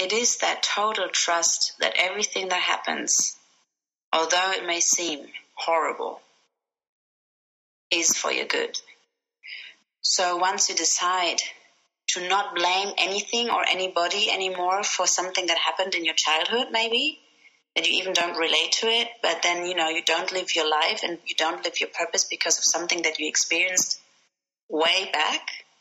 it is that total trust that everything that happens, although it may seem horrible, is for your good. So once you decide to not blame anything or anybody anymore for something that happened in your childhood, maybe, that you even don't relate to it, but then, you don't live your life and you don't live your purpose because of something that you experienced way back,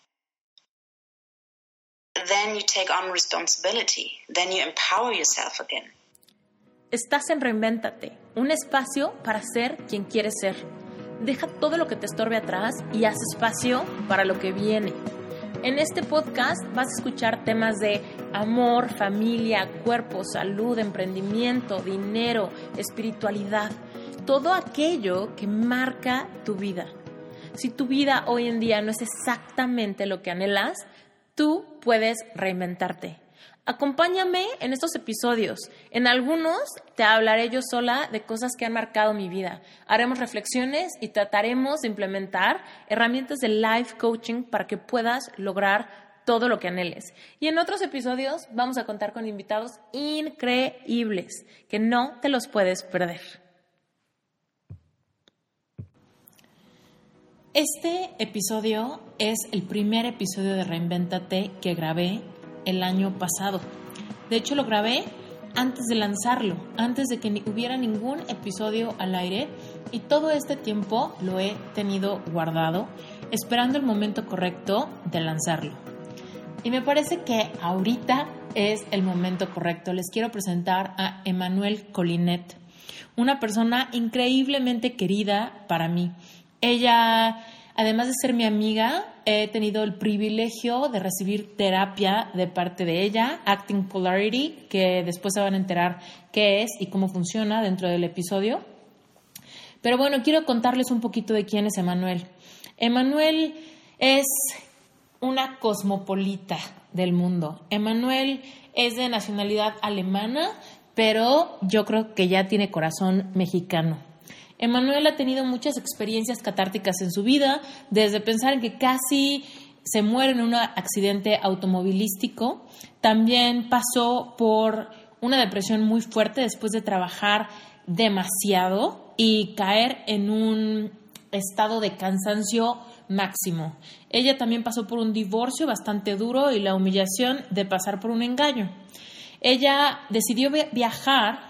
then you take on responsibility. Then you empower yourself again. Estás en Reinvéntate, un espacio para ser quien quieres ser. Deja todo lo que te estorbe atrás y haz espacio para lo que viene. En este podcast vas a escuchar temas de amor, familia, cuerpo, salud, emprendimiento, dinero, espiritualidad. Todo aquello que marca tu vida. Si tu vida hoy en día no es exactamente lo que anhelas, tú puedes reinventarte. Acompáñame en estos episodios. En algunos te hablaré yo sola de cosas que han marcado mi vida. Haremos reflexiones y trataremos de implementar herramientas de life coaching para que puedas lograr todo lo que anheles. Y en otros episodios vamos a contar con invitados increíbles que no te los puedes perder. Este episodio es el primer episodio de Reinvéntate que grabé el año pasado. De hecho, lo grabé antes de lanzarlo, antes de que hubiera ningún episodio al aire, y todo este tiempo lo he tenido guardado, esperando el momento correcto de lanzarlo. Y me parece que ahorita es el momento correcto. Les quiero presentar a Emmanuelle Collinet, una persona increíblemente querida para mí. Ella, además de ser mi amiga, he tenido el privilegio de recibir terapia de parte de ella, Acting Polarity, que después se van a enterar qué es y cómo funciona dentro del episodio. Pero bueno, quiero contarles un poquito de quién es Emmanuelle. Emmanuelle es una cosmopolita del mundo. Emmanuelle es de nacionalidad alemana, pero yo creo que ya tiene corazón mexicano. Emmanuelle ha tenido muchas experiencias catárticas en su vida, desde pensar en que casi se muere en un accidente automovilístico. También pasó por una depresión muy fuerte después de trabajar demasiado y caer en un estado de cansancio máximo. Ella también pasó por un divorcio bastante duro y la humillación de pasar por un engaño. Ella decidió viajar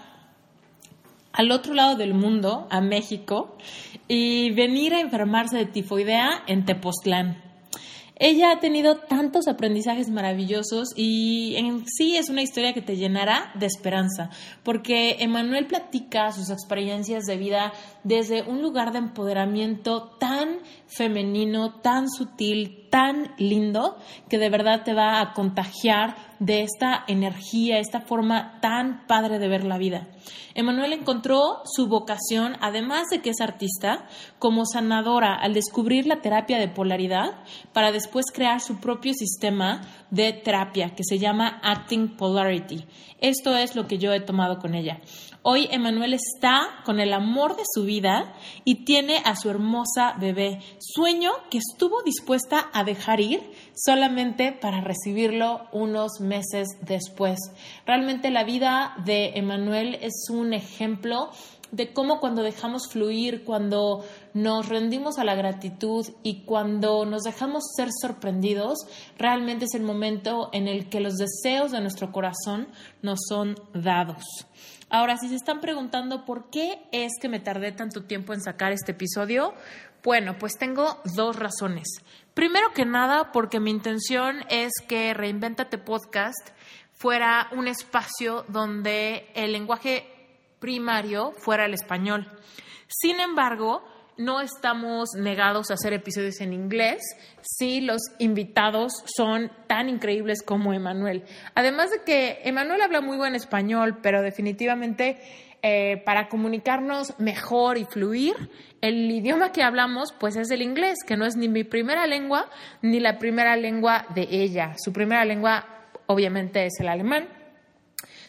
al otro lado del mundo, a México, y venir a enfermarse de tifoidea en Tepoztlán. Ella ha tenido tantos aprendizajes maravillosos y en sí es una historia que te llenará de esperanza, porque Emmanuelle platica sus experiencias de vida desde un lugar de empoderamiento tan femenino, tan sutil, tan lindo, que de verdad te va a contagiar de esta energía, esta forma tan padre de ver la vida. Emmanuelle encontró su vocación, además de que es artista, como sanadora al descubrir la terapia de polaridad para después crear su propio sistema de terapia que se llama Acting Polarity. Esto es lo que yo he tomado con ella. Hoy Emmanuelle está con el amor de su vida y tiene a su hermosa bebé, sueño que estuvo dispuesta a dejar ir solamente para recibirlo unos meses después. Realmente la vida de Emmanuelle es un ejemplo de cómo cuando dejamos fluir, cuando nos rendimos a la gratitud y cuando nos dejamos ser sorprendidos, realmente es el momento en el que los deseos de nuestro corazón nos son dados. Ahora, si se están preguntando por qué es que me tardé tanto tiempo en sacar este episodio, bueno, pues tengo dos razones. Primero que nada, porque mi intención es que Reinvéntate Podcast fuera un espacio donde el lenguaje primario fuera el español. Sin embargo, no estamos negados a hacer episodios en inglés si los invitados son tan increíbles como Emmanuelle. Además de que Emmanuelle habla muy buen español, pero definitivamente para comunicarnos mejor y fluir, el idioma que hablamos pues es el inglés, que no es ni mi primera lengua ni la primera lengua de ella. Su primera lengua obviamente es el alemán.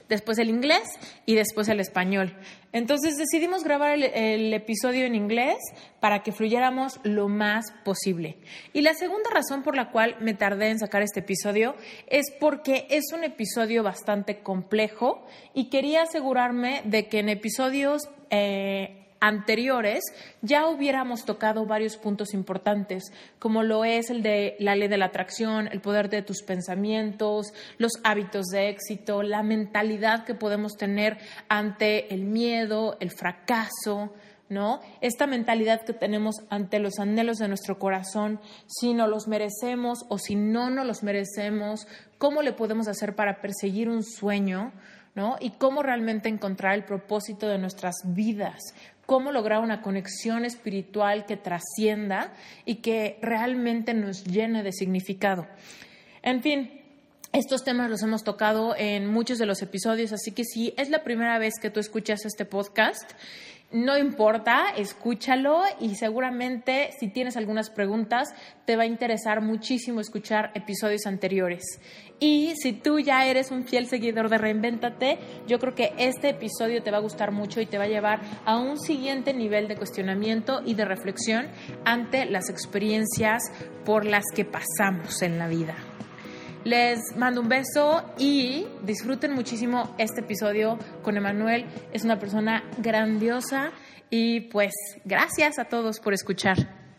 después el inglés y después el español. Entonces decidimos grabar el episodio en inglés para que fluyéramos lo más posible. Y la segunda razón por la cual me tardé en sacar este episodio es porque es un episodio bastante complejo y quería asegurarme de que en episodios anteriores ya hubiéramos tocado varios puntos importantes, como lo es el de la ley de la atracción, el poder de tus pensamientos, los hábitos de éxito, la mentalidad que podemos tener ante el miedo, el fracaso, ¿no? Esta mentalidad que tenemos ante los anhelos de nuestro corazón, si no los merecemos o si no nos los merecemos, cómo le podemos hacer para perseguir un sueño, ¿no? Y cómo realmente encontrar el propósito de nuestras vidas, cómo lograr una conexión espiritual que trascienda y que realmente nos llene de significado. En fin, estos temas los hemos tocado en muchos de los episodios, así que si es la primera vez que tú escuchas este podcast, no importa, escúchalo y seguramente si tienes algunas preguntas te va a interesar muchísimo escuchar episodios anteriores. Y si tú ya eres un fiel seguidor de Reinvéntate, yo creo que este episodio te va a gustar mucho y te va a llevar a un siguiente nivel de cuestionamiento y de reflexión ante las experiencias por las que pasamos en la vida. Les mando un beso y disfruten muchísimo este episodio con Emanuel. Es una persona grandiosa y pues gracias a todos por escuchar.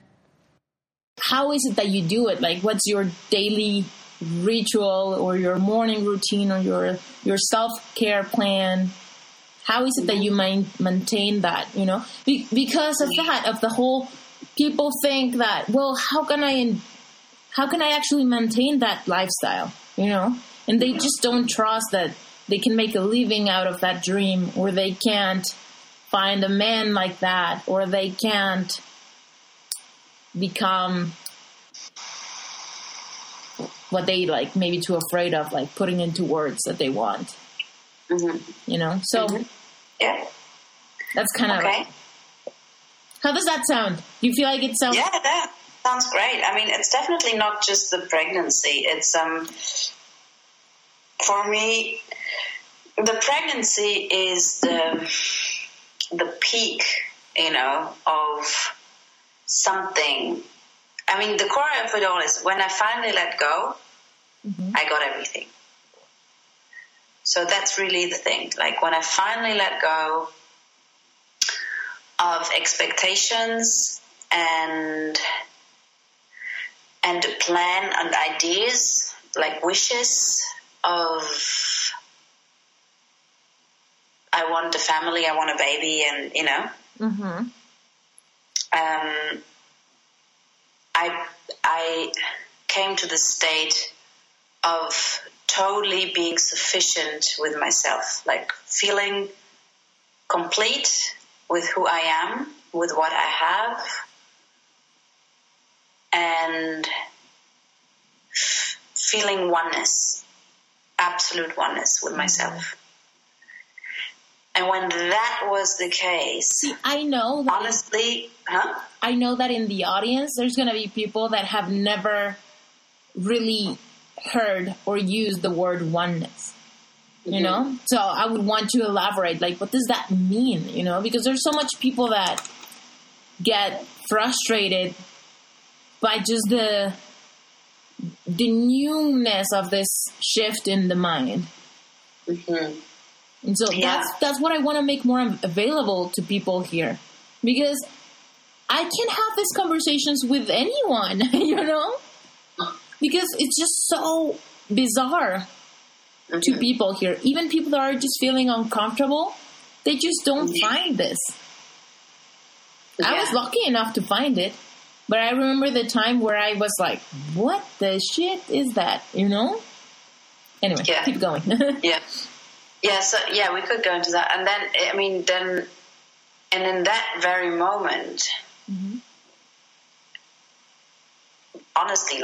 How is it that you do it? Like, what's your daily ritual or your morning routine or your self-care plan? How is it that you maintain that, you know? Because of that, of the whole, people think that, well, how can I actually maintain that lifestyle, you know? And they just don't trust that they can make a living out of that dream, or they can't find a man like that, or they can't become what they like, maybe too afraid of, like putting into words that they want, you know? So yeah, that's kind of okay. How does that sound? Do you feel like it sounds? Yeah, that sounds great. I mean, it's definitely not just the pregnancy. It's for me, the pregnancy is the peak, you know, of something. I mean, the core of it all is when I finally let go, I got everything. So that's really the thing. Like when I finally let go of expectations and a plan and ideas, like wishes of I want a family, I want a baby, and you know, I came to the state of totally being sufficient with myself, like feeling complete with who I am, with what I have, and feeling oneness, absolute oneness with myself. And when that was the case, see, I know that honestly, I know that in the audience, there's going to be people that have never really heard or used the word oneness, you know? So I would want to elaborate, like, what does that mean, you know? Because there's so much people that get frustrated by just the newness of this shift in the mind. And so that's what I want to make more available to people here. Because I can have these conversations with anyone, you know? Because it's just so bizarre to people here. Even people that are just feeling uncomfortable, they just don't find this. I was lucky enough to find it. But I remember the time where I was like, what the shit is that, you know? Anyway, keep going. So we could go into that. And then, I mean, and in that very moment, honestly,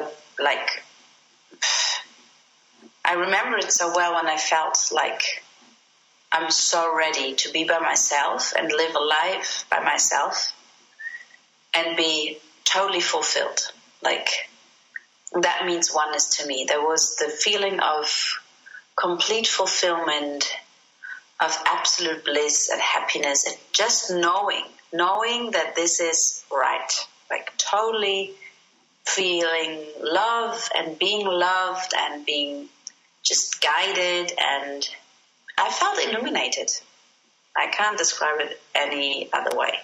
I remember it so well when I felt like I'm so ready to be by myself and live a life by myself and be totally fulfilled. Like, that means oneness to me. There was the feeling of complete fulfillment, of absolute bliss and happiness, and just knowing that this is right, like totally feeling love and being loved and being just guided, and I felt illuminated. I can't describe it any other way.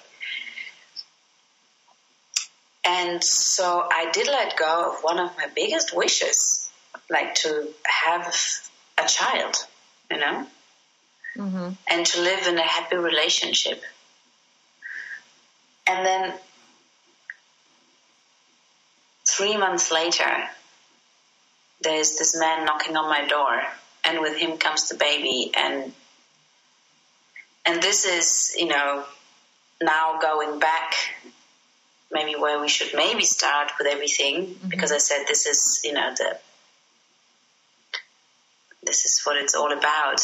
And so I did let go of one of my biggest wishes, like to have a child, you know, and to live in a happy relationship. And then 3 months later, there's this man knocking on my door, and with him comes the baby. And this is, you know, now going back, maybe where we should maybe start with everything, because I said this is, you know, this is what it's all about.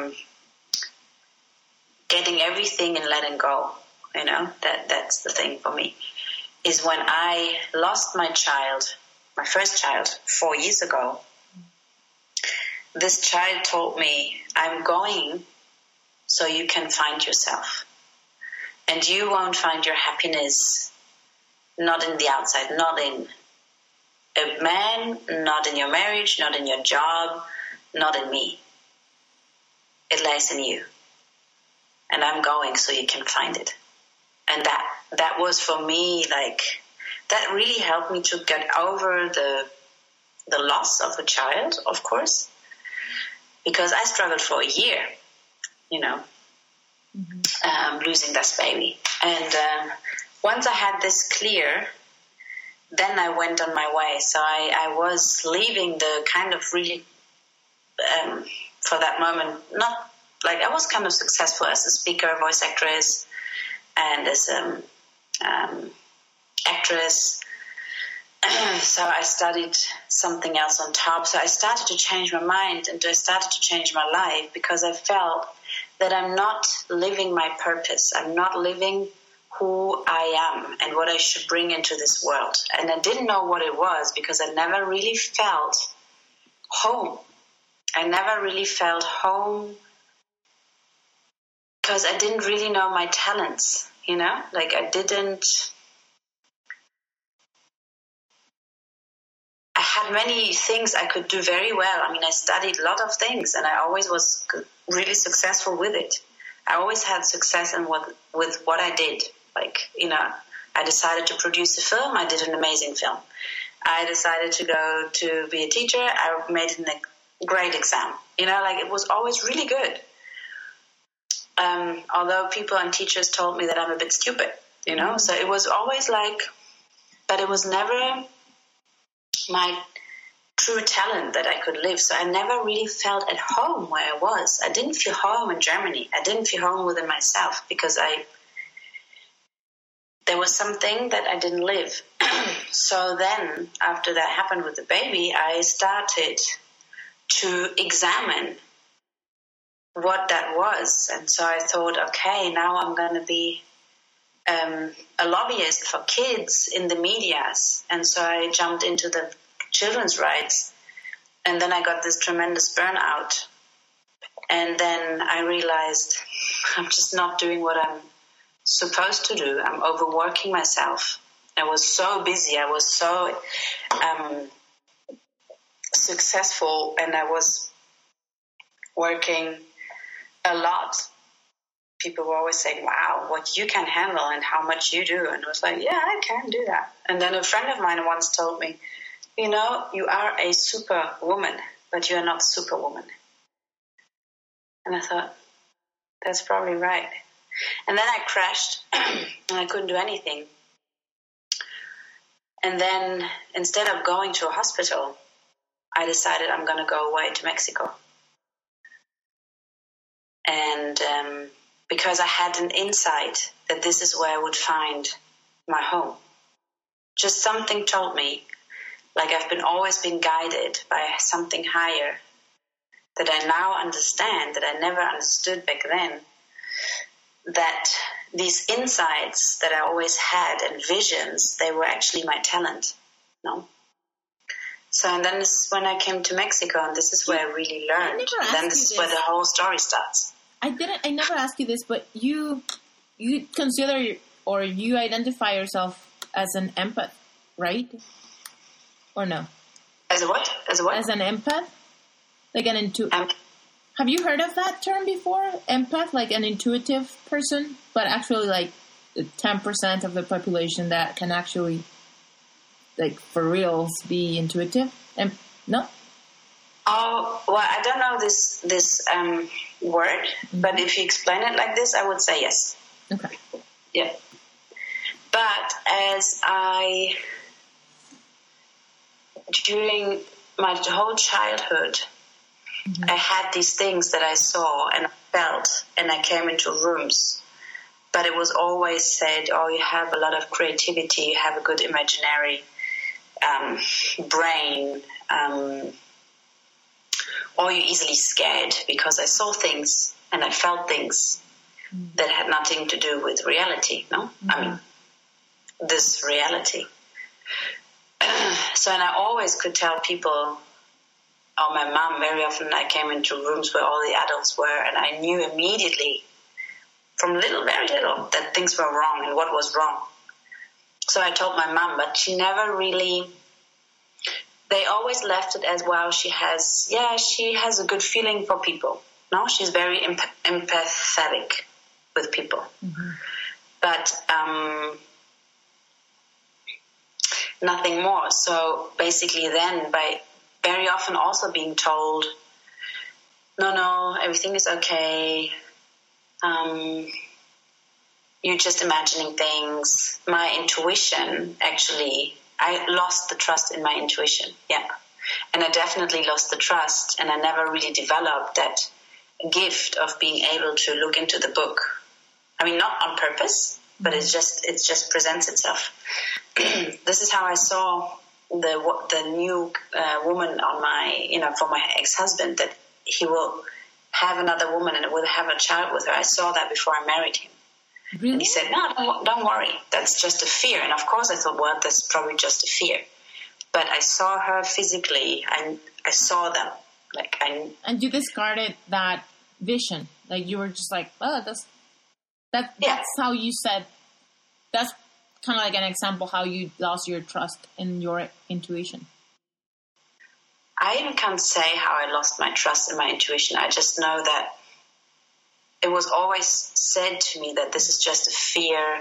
Getting everything and letting go, you know, that's the thing for me. Is when I lost my child, my first child, 4 years ago, this child told me, I'm going so you can find yourself. And you won't find your happiness not in the outside, not in a man, not in your marriage, not in your job, not in me. It lies in you. And I'm going so you can find it. And that was for me, like, that really helped me to get over the loss of a child, of course, because I struggled for a year, you know, losing this baby. And once I had this clear, then I went on my way. So I was leaving the kind of really, for that moment, not like I was kind of successful as a speaker, voice actress, and as actress. So I studied something else on top. So I started to change my mind, and I started to change my life, because I felt that I'm not living my purpose. I'm not living who I am and what I should bring into this world. And I didn't know what it was, because I never really felt home. I never really felt home because I didn't really know my talents, you know? Like I had many things I could do very well. I mean, I studied a lot of things, and I always was really successful with it. I always had success with what I did. Like, you know, I decided to produce a film. I did an amazing film. I decided to go to be a teacher. I made a great exam. You know, like it was always really good. Although people and teachers told me that I'm a bit stupid, you know. So it was always like, but it was never my true talent that I could live. So I never really felt at home where I was. I didn't feel home in Germany. I didn't feel home within myself, because there was something that I didn't live. So then, after that happened with the baby, I started to examine what that was. And so I thought, okay, now I'm going to be a lobbyist for kids in the medias. And so I jumped into the children's rights. And then I got this tremendous burnout. And then I realized I'm just not doing what I'm supposed to do. I'm overworking myself. I was so busy. I was so successful, and I was working a lot. People were always saying, wow, what you can handle and how much you do. And I was like, yeah, I can do that. And then a friend of mine once told me, you know, you are a superwoman, but you are not superwoman. And I thought, that's probably right. And then I crashed and I couldn't do anything. And then instead of going to a hospital, I decided I'm going to go away to Mexico. And because I had an insight that this is where I would find my home. Just something told me, like I've always been guided by something higher that I now understand, that I never understood back then, that these insights that I always had and visions, they were actually my talent. No? So, and then this is when I came to Mexico, and this is where I really learned. Then this is where the whole story starts. I never asked you this, but you consider or you identify yourself as an empath, right? Or no? As a what? As a what? As an empath? Like an have you heard of that term before? Empath, like an intuitive person, but actually like 10% of the population that can actually, like, for reals, be intuitive? No? Oh, well, I don't know this word, but if you explain it like this, I would say yes. Okay. Yeah. But during my whole childhood, I had these things that I saw and felt, and I came into rooms. But it was always said, oh, you have a lot of creativity, you have a good imaginary brain, or you're easily scared, because I saw things and I felt things that had nothing to do with reality, no? I mean, this reality. So, and I always could tell people, or my mom, very often I came into rooms where all the adults were, and I knew immediately, from very little, that things were wrong and what was wrong. So I told my mom, but she never really, they always left it as, well, she has a good feeling for people. No, she's very empathetic with people. But nothing more. So basically then, by very often also being told, no, everything is okay, you're just imagining things. My intuition, actually, I lost the trust in my intuition, yeah. And I definitely lost the trust, and I never really developed that gift of being able to look into the book. I mean, not on purpose, but it just presents itself. This is how I saw the new woman on my, for my ex-husband, that he will have another woman and will have a child with her. I saw that before I married him. Really? And he said, no, don't worry. That's just a fear. And of course I thought, well, that's probably just a fear. But I saw her physically, and I saw them. And you discarded that vision. Like, you were just like, oh, that's how you said, that's kind of like an example how you lost your trust in your intuition. I even can't say how I lost my trust in my intuition. I just know that it was always said to me that this is just a fear,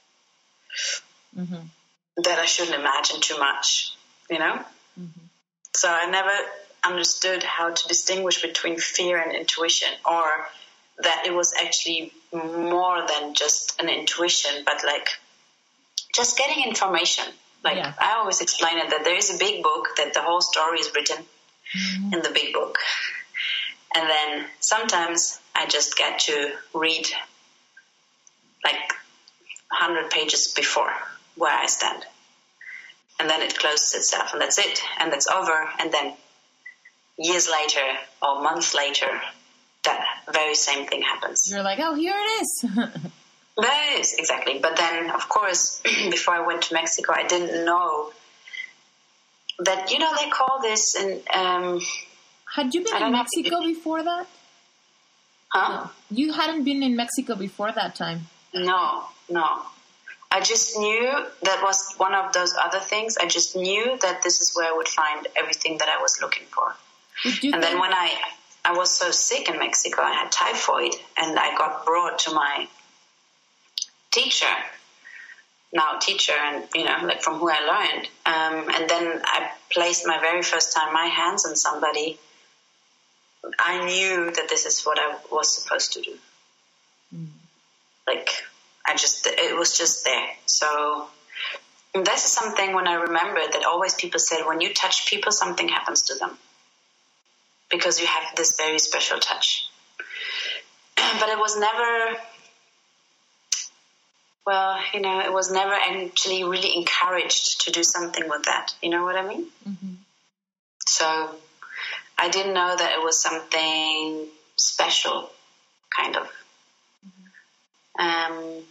that I shouldn't imagine too much, So I never understood how to distinguish between fear and intuition, or that it was actually more than just an intuition, but like just getting information. I always explain it that there is a big book, that the whole story is written in the big book. And then sometimes I just get to read like 100 pages before where I stand. And then it closes itself, and that's it. And that's over. And then years later or months later, that very same thing happens. You're like, oh, here it is. Yes, exactly. But then, of course, before I went to Mexico, I didn't know that, they call this had you been in Mexico before that? Huh? No. You hadn't been in Mexico before that time? No. I just knew that was one of those other things. I just knew that this is where I would find everything that I was looking for. And then when I was so sick in Mexico, I had typhoid, and I got brought to my teacher, and, from who I learned. And then I placed my very first time my hands on somebody. I knew that this is what I was supposed to do. It was just there. So this is something, when I remember, that always people said, when you touch people, something happens to them, because you have this very special touch. But it was never, it was never actually really encouraged to do something with that. You know what I mean? So I didn't know that it was something special, kind of.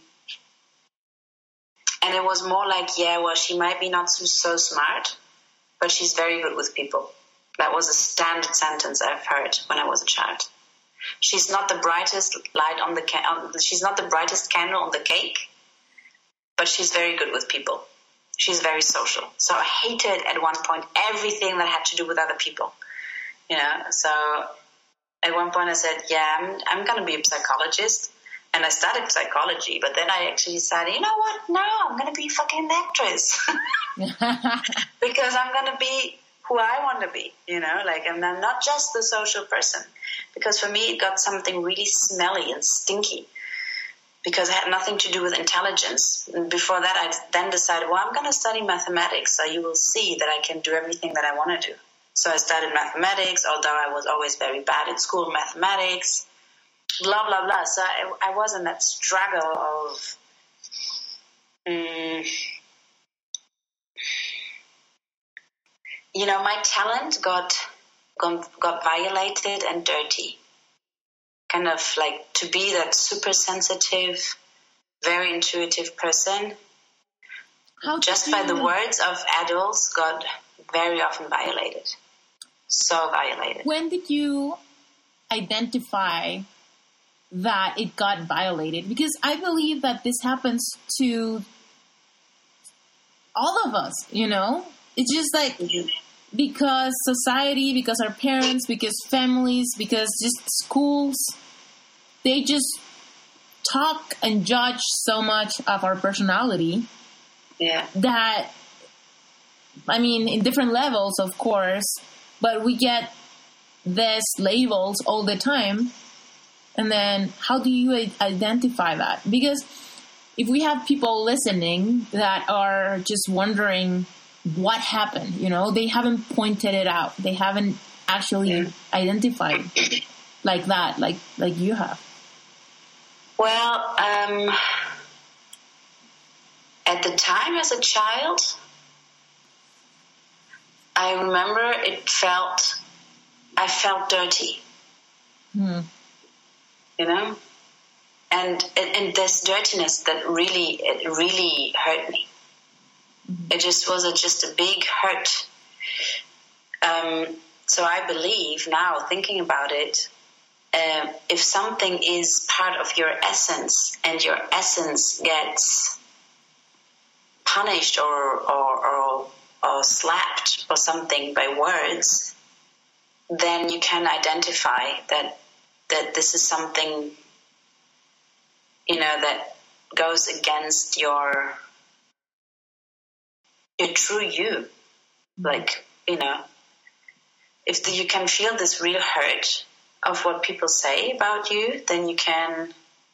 And it was more like, she might be not so smart, but she's very good with people. That was a standard sentence I've heard when I was a child. She's not the brightest light on the she's not the brightest candle on the cake, but she's very good with people. She's very social. So I hated at one point everything that had to do with other people. You know, so at one point I said, yeah, I'm going to be a psychologist. And I studied psychology, but then I actually decided, you know what? No, I'm going to be a fucking actress. Because I'm going to be who I want to be, you know, like I'm not just the social person. Because for me, it got something really smelly and stinky. Because it had nothing to do with intelligence. And before that, I then decided, well, I'm going to study mathematics, so you will see that I can do everything that I want to do. So I studied mathematics, although I was always very bad at school mathematics. Blah, blah, blah. So I was in that struggle of you know, my talent got violated and dirty. Kind of like to be that super sensitive, very intuitive person. Just by the words of adults got very often violated. So violated. When did you identify that it got violated? Because I believe that this happens to all of us, you know? It's just like because society, because our parents, because families, because just schools, they just talk and judge so much of our personality. Yeah. That, I mean, in different levels, of course, but we get these labels all the time. And then how do you identify that? Because if we have people listening that are just wondering what happened, you know, they haven't pointed it out. They haven't actually identified like that, like you have. Well, at the time as a child, I remember I felt dirty. You know? And this dirtiness that really hurt me. It just was just a big hurt. So I believe now, thinking about it, if something is part of your essence and your essence gets punished or slapped or something by words, then you can identify that this is something, you know, that goes against your true you. Like, you know, if you can feel this real hurt of what people say about you, then you can,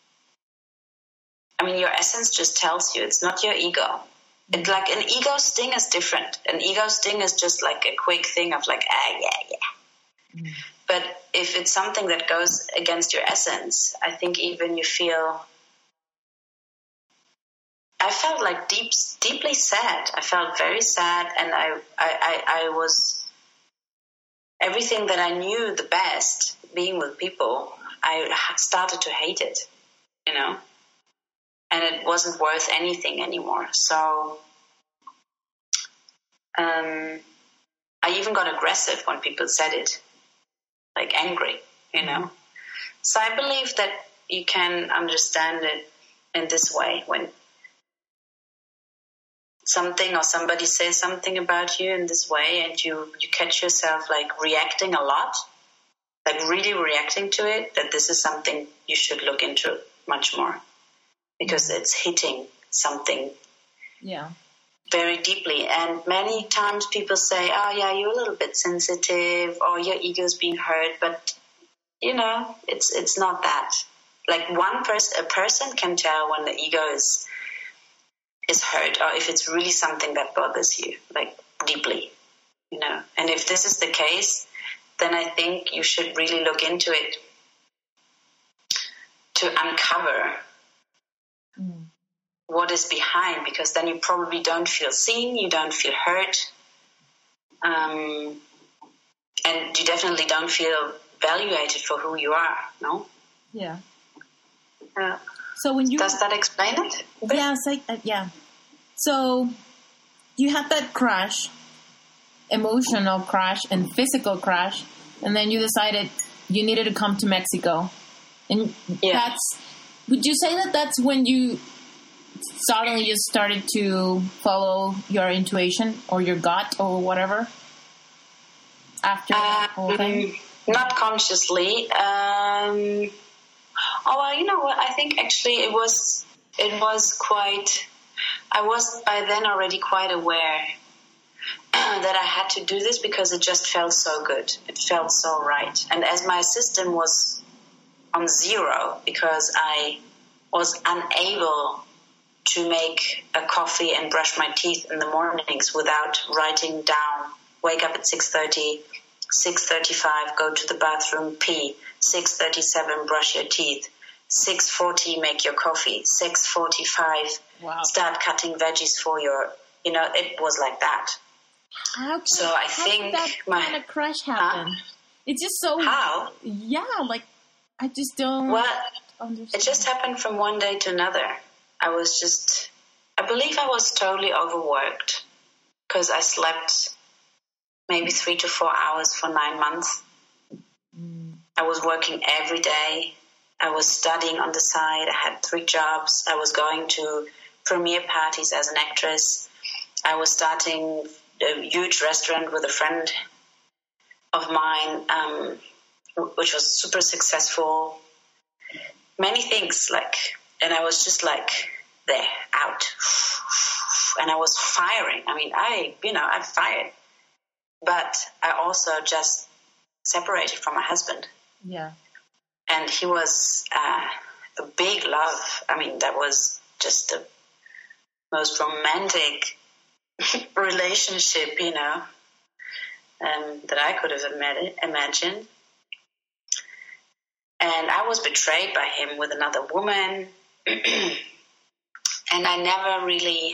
I mean, your essence just tells you, it's not your ego. It's like an ego sting is different. An ego sting is just like a quick thing of like, yeah. But if it's something that goes against your essence, I think even you feel, I felt like deeply sad. I felt very sad, and I was, everything that I knew the best, being with people, I started to hate it, you know, and it wasn't worth anything anymore. So I even got aggressive when people said it, like angry, you know. So I believe that you can understand it in this way: when something or somebody says something about you in this way and you catch yourself like reacting a lot, like really reacting to it, that this is something you should look into much more, because it's hitting something very deeply. And many times people say, oh yeah, you're a little bit sensitive, or your ego's being hurt, but you know, it's not that. Like a person can tell when the ego is hurt, or if it's really something that bothers you, like deeply, you know. And if this is the case, then I think you should really look into it to uncover what is behind, because then you probably don't feel seen, you don't feel hurt, and you definitely don't feel evaluated for who you are, no? Yeah. Yeah. So when you... Does that explain it? Yeah, it's like, yeah. So you had that crush, emotional crash and physical crash, and then you decided you needed to come to Mexico. And would you say that that's when you suddenly just started to follow your intuition or your gut or whatever? After that whole thing? Not consciously. Oh, well, you know what? I think actually it was quite, I was by then already quite aware that I had to do this because it just felt so good. It felt so right. And as my system was on zero because I was unable to make a coffee and brush my teeth in the mornings without writing down, wake up at 6:30, 6:35, go to the bathroom, pee, 6:37, brush your teeth, 6:40, make your coffee, 6:45, start cutting veggies for your, it was like that. How did that kind of crash happen? It's just so... How? Yeah, like, I just don't understand. It just happened from one day to another. I believe I was totally overworked because I slept maybe 3 to 4 hours for 9 months. I was working every day. I was studying on the side. I had 3 jobs. I was going to premiere parties as an actress. I was starting a huge restaurant with a friend of mine, which was super successful. Many things, and I was just there, out. And I was firing. I mean, I fired. But I also just separated from my husband. Yeah. And he was a big love. I mean, that was just the most romantic relationship, that I could have imagined. And I was betrayed by him with another woman. And I never really...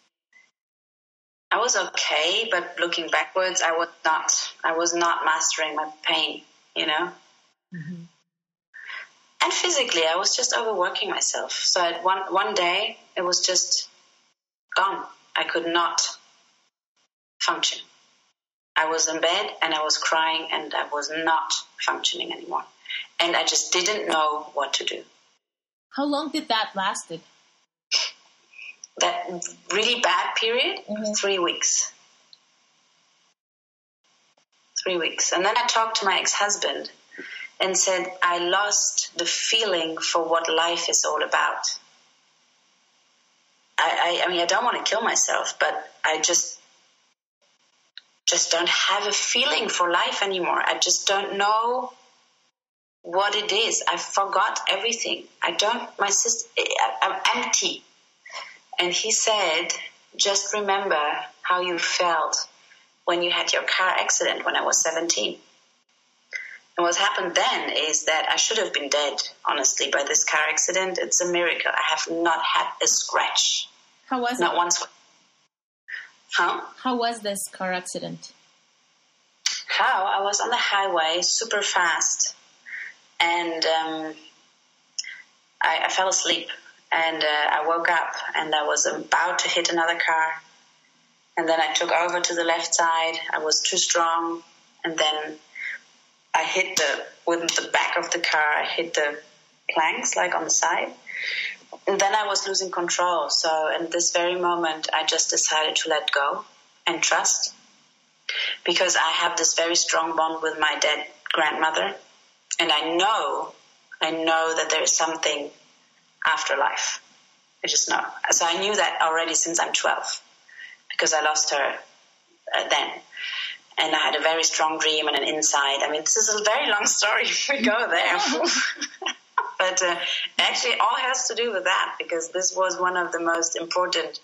I was okay, but looking backwards, I was not mastering my pain, Mm-hmm. And physically, I was just overworking myself. So at one day, it was just gone. I could not function. I was in bed and I was crying and I was not functioning anymore. And I just didn't know what to do. How long did that lasted? That really bad period, 3 weeks. 3 weeks. And then I talked to my ex-husband and said, I lost the feeling for what life is all about. I mean, I don't want to kill myself, but I just don't have a feeling for life anymore. I just don't know what it is. I forgot everything. I'm empty. And he said, just remember how you felt when you had your car accident when I was 17. And what happened then is that I should have been dead, honestly, by this car accident. It's a miracle. I have not had a scratch. How was it? Not one scratch. Huh? How was this car accident? How? I was on the highway super fast. And I fell asleep. And I woke up and I was about to hit another car. And then I took over to the left side. I was too strong. And then I hit with the back of the car, I hit the planks on the side. And then I was losing control. So in this very moment, I just decided to let go and trust. Because I have this very strong bond with my dead grandmother. And I know that there is something after life. I just know. So I knew that already since I'm 12 because I lost her then. And I had a very strong dream and an insight. I mean, this is a very long story if we go there. But actually all has to do with that because this was one of the most important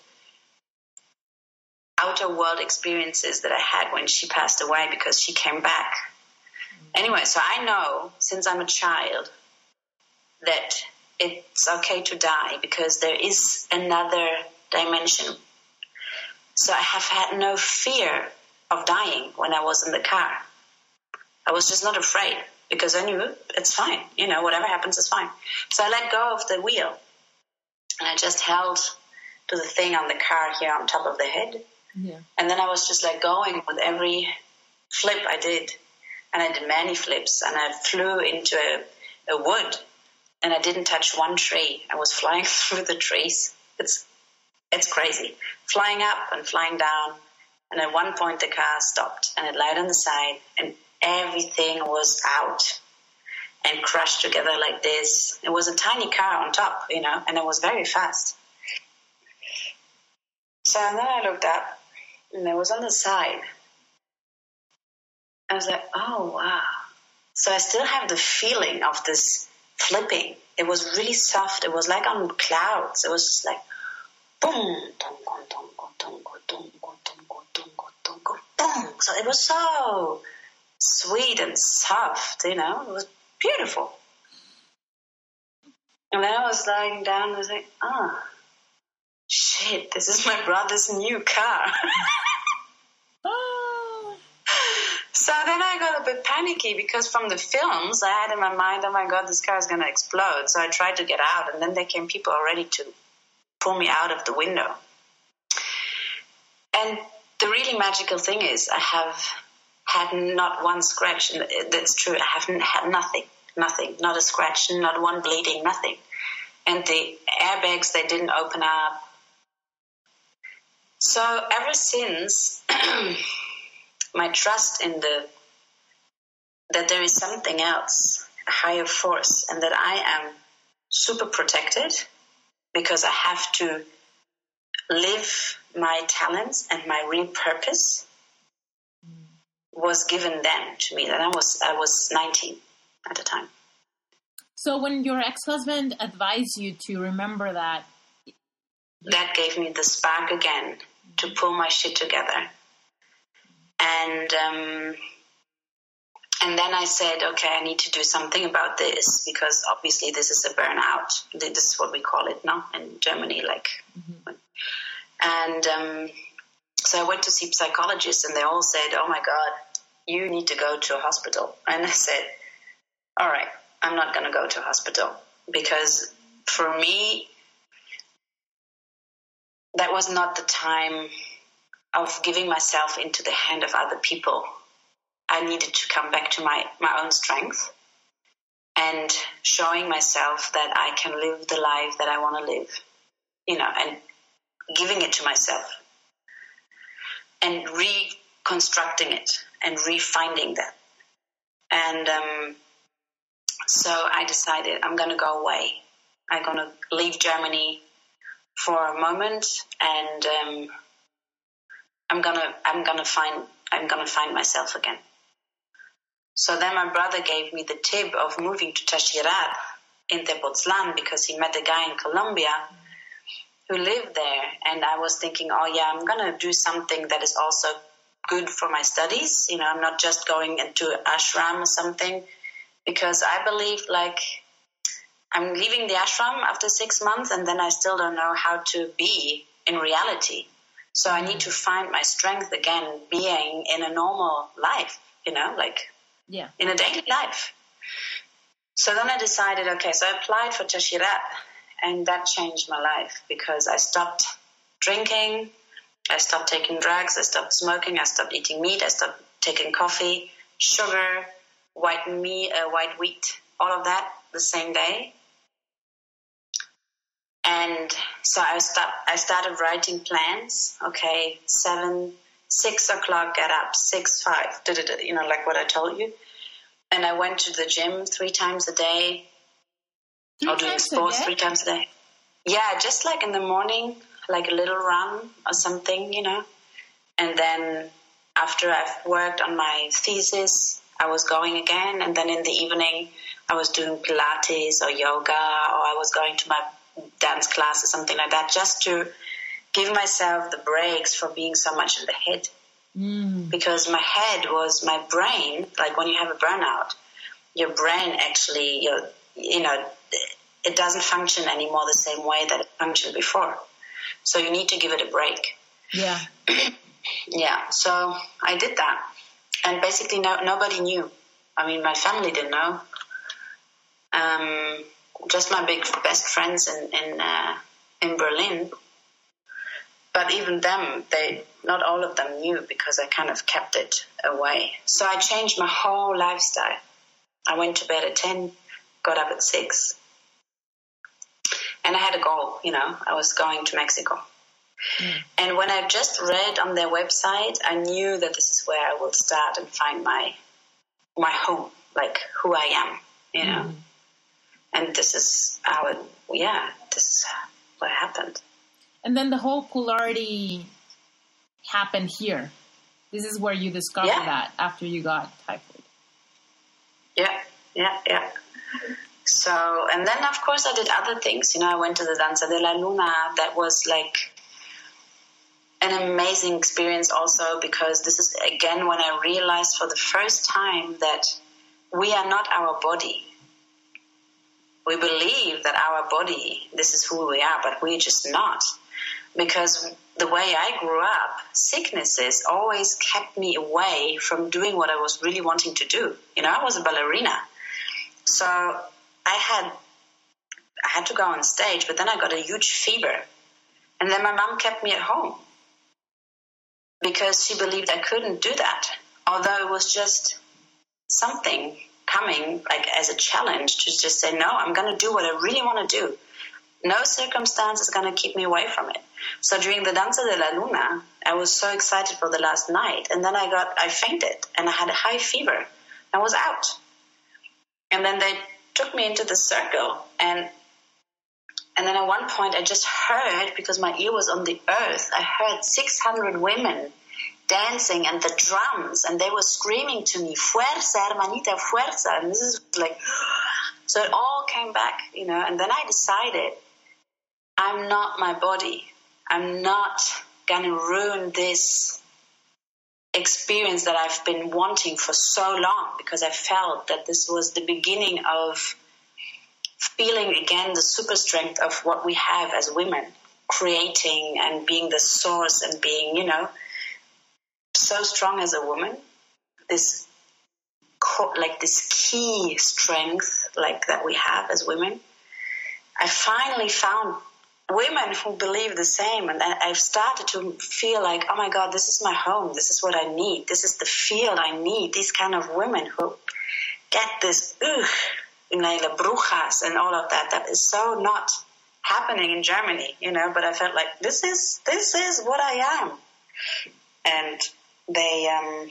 outer world experiences that I had when she passed away because she came back. Anyway, so I know since I'm a child that it's okay to die because there is another dimension. So I have had no fear of dying when I was in the car. I was just not afraid because I knew it's fine. Whatever happens is fine. So I let go of the wheel and I just held to the thing on the car here on top of the head. Yeah. And then I was just like going with every flip I did. And I did many flips, and I flew into a wood, and I didn't touch one tree. I was flying through the trees. It's crazy. Flying up and flying down. And at one point the car stopped, and it lied on the side, and everything was out and crushed together like this. It was a tiny car on top, and it was very fast. So then I looked up, and it was on the side. I was like, oh, wow. So I still have the feeling of this flipping. It was really soft. It was like on clouds. It was just like, boom, tongo, tongo, tongo, tongo, tongo, tongo, tongo, boom. So it was so sweet and soft, It was beautiful. And then I was lying down and I was like, oh, shit, this is my brother's new car. So then I got a bit panicky because from the films I had in my mind, oh my God, this car is going to explode. So I tried to get out, and then there came people already to pull me out of the window. And the really magical thing is I have had not one scratch. And that's true. I haven't had nothing, not a scratch, not one bleeding, nothing. And the airbags, they didn't open up. So ever since, my trust in that there is something else, a higher force, and that I am super protected because I have to live my talents and my real purpose was given then to me. That I was 19 at the time. So when your ex-husband advised you to remember that gave me the spark again to pull my shit together. And then I said, okay, I need to do something about this because obviously this is a burnout. This is what we call it now in Germany. And so I went to see psychologists, and they all said, oh my God, you need to go to a hospital. And I said, all right, I'm not going to go to a hospital because for me, that was not the time of giving myself into the hand of other people. I needed to come back to my own strength and showing myself that I can live the life that I want to live, and giving it to myself and reconstructing it and refinding that. And so I decided I'm going to go away. I'm going to leave Germany for a moment, and I'm gonna find myself again. So then my brother gave me the tip of moving to Tachirat in Tepoztlan because he met a guy in Colombia who lived there, and I was thinking, oh yeah, I'm gonna do something that is also good for my studies. I'm not just going into ashram or something, because I believe I'm leaving the ashram after 6 months, and then I still don't know how to be in reality. So I need to find my strength again, being in a normal life, in a daily life. So then I decided, okay, so I applied for Tachirat, and that changed my life because I stopped drinking, I stopped taking drugs, I stopped smoking, I stopped eating meat, I stopped taking coffee, sugar, white wheat, all of that the same day. And so I started writing plans. Okay, 6 o'clock, get up, 6:05, like what I told you. And I went to the gym 3 times a day. Or doing sports 3 times a day. Yeah, just like in the morning, like a little run or something, And then after I've worked on my thesis, I was going again. And then in the evening, I was doing Pilates or yoga, or I was going to my dance class or something like that, just to give myself the breaks for being so much in the head. Because my head was my brain. Like when you have a burnout, your brain actually, it doesn't function anymore the same way that it functioned before. So you need to give it a break. Yeah. Yeah. So I did that, and basically nobody knew. I mean, my family didn't know. Just my best friends in Berlin. But even them, not all of them knew, because I kind of kept it away. So I changed my whole lifestyle. I went to bed at 10, got up at 6. And I had a goal, I was going to Mexico. And when I just read on their website, I knew that this is where I will start and find my home, like who I am, And this is this is what happened. And then the whole polarity happened here. This is where you discovered that after you got typhoid. Yeah. So, and then of course I did other things. I went to the Danza de la Luna. That was like an amazing experience also, because this is again when I realized for the first time that we are not our body. We believe that our body, this is who we are, but we're just not. Because the way I grew up, sicknesses always kept me away from doing what I was really wanting to do. I was a ballerina. So I had to go on stage, but then I got a huge fever. And then my mom kept me at home because she believed I couldn't do that. Although it was just something coming like as a challenge to just say, no, I'm going to do what I really want to do. No circumstance is going to keep me away from it. So during the Danza de la Luna, I was so excited for the last night. And then I fainted and I had a high fever. I was out. And then they took me into the circle. And then at one point I just heard, because my ear was on the earth, I heard 600 women dancing and the drums. And they were screaming to me, fuerza, hermanita, fuerza. And this is like, so it all came back, And then I decided, I'm not my body. I'm not going to ruin this experience that I've been wanting for so long, because I felt that this was the beginning of feeling again the super strength of what we have as women, creating and being the source and being, so strong as a woman. This key strength that we have as women. I finally found women who believe the same, and I've started to feel like, oh my God, this is my home. This is what I need. This is the field I need. These kind of women who get this, brujas and all of that. That is so not happening in Germany, but I felt like this is what I am. And they,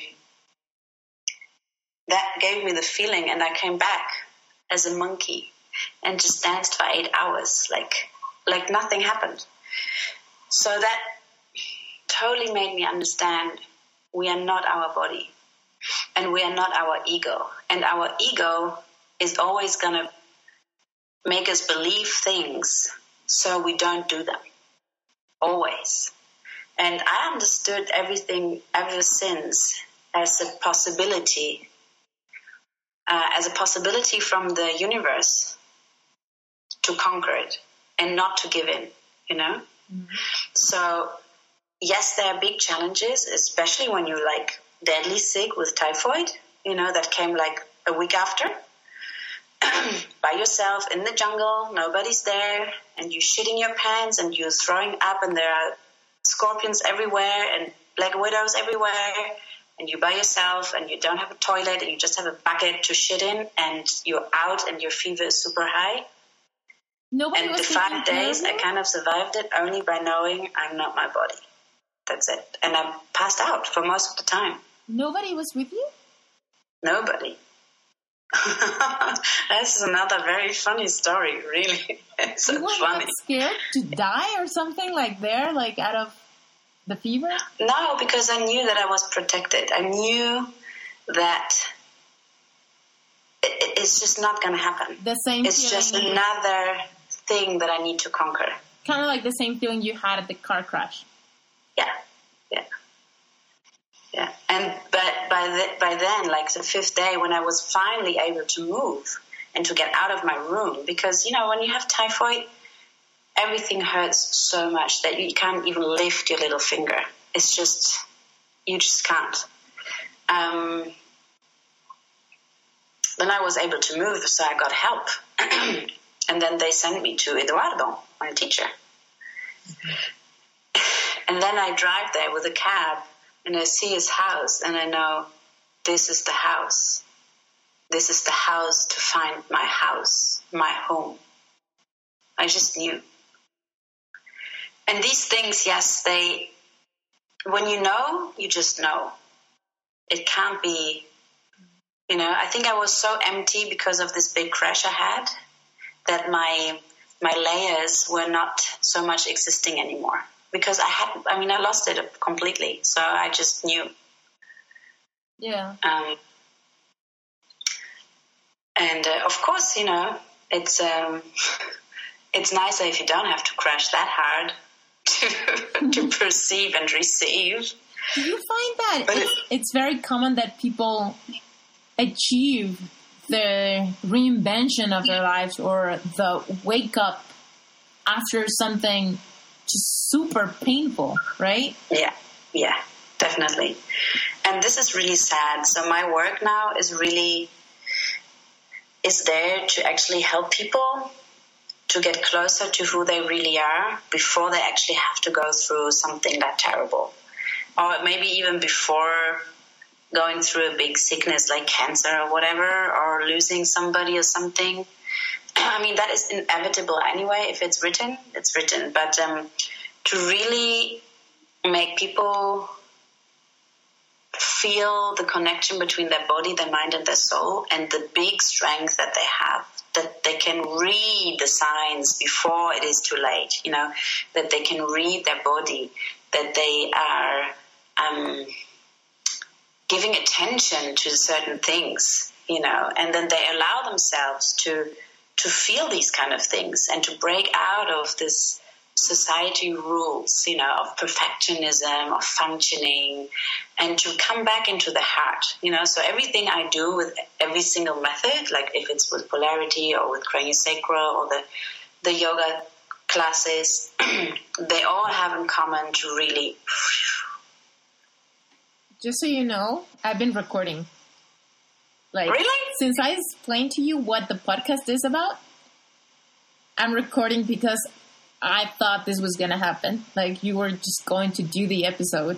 that gave me the feeling, and I came back as a monkey and just danced for 8 hours, like nothing happened. So that totally made me understand we are not our body, and we are not our ego. And our ego is always going to make us believe things so we don't do them. Always. And I understood everything ever since as a possibility from the universe to conquer it and not to give in, Mm-hmm. So, yes, there are big challenges, especially when you're deadly sick with typhoid, that came a week after. By yourself in the jungle, nobody's there, and you shitting your pants and you're throwing up, and there are scorpions everywhere and black widows everywhere, and you're by yourself and you don't have a toilet and you just have a bucket to shit in, and you're out and your fever is super high. Nobody and the 5 days I kind of survived it only by knowing I'm not my body. That's it. And I passed out for most of the time. Nobody was with you? Nobody. This is another very funny story, really. It's so funny. Scared to die or something out of the fever? No, because I knew that I was protected. I knew that it's just not going to happen. The same. It's just another thing that I need to conquer. Kind of like the same feeling you had at the car crash. Yeah. And but by then, the 5th day, when I was finally able to move and to get out of my room, because when you have typhoid, everything hurts so much that you can't even lift your little finger. It's just, you just can't. Then I was able to move, so I got help. And then they sent me to Eduardo, my teacher. And then I drive there with a cab and I see his house and I know this is the house. This is the house to find my house, my home. I just knew. And these things, yes, when you know, you just know. It can't be, I think I was so empty because of this big crash I had that my layers were not so much existing anymore because I lost it completely. So I just knew. Yeah. And of course, it's it's nicer if you don't have to crash that hard to perceive and receive. Do you find that it's very common that people achieve the reinvention of their lives or the wake up after something just super painful, right? Yeah, definitely. And this is really sad. So my work now is there to actually help people to get closer to who they really are before they actually have to go through something that terrible. Or maybe even before going through a big sickness like cancer or whatever, or losing somebody or something. That is inevitable anyway. If it's written, it's written. But to really make people feel the connection between their body, their mind, and their soul, and the big strength that they have, that they can read the signs before it is too late, that they can read their body, that they are giving attention to certain things, and then they allow themselves to feel these kind of things and to break out of this society rules, of perfectionism, of functioning, and to come back into the heart, So everything I do with every single method, like if it's with polarity or with craniosacral or the yoga classes, they all have in common to really... Just so you know, I've been recording. Really? Since I explained to you what the podcast is about, I'm recording because I thought this was going to happen. Like, you were just going to do the episode.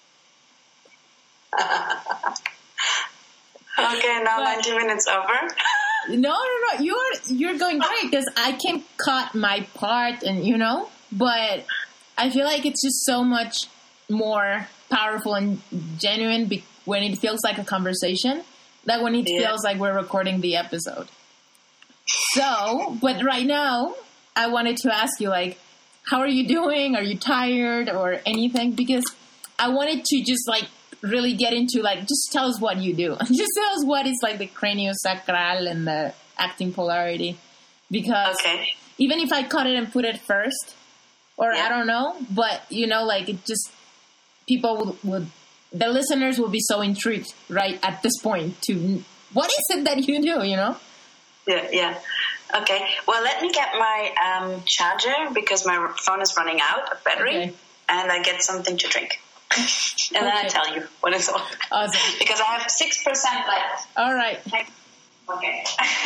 Okay, now 90 minutes over. No. You're going great because I can cut my part and, but I feel like it's just so much more powerful and genuine when it feels like a conversation than when it feels like we're recording the episode. So, but right now, I wanted to ask you, how are you doing? Are you tired or anything? Because I wanted to just, really get into, just tell us what you do. Just tell us what is, the craniosacral and the acting polarity. Because even if I cut it and put it first, or I don't know, but, it just, people the listeners will be so intrigued, right, at this point to, what is it that you do, Yeah. Okay. Well, let me get my charger because my phone is running out of battery, and I get something to drink. And then I tell you what it's all. Awesome. Because I have 6% left. All right. Okay.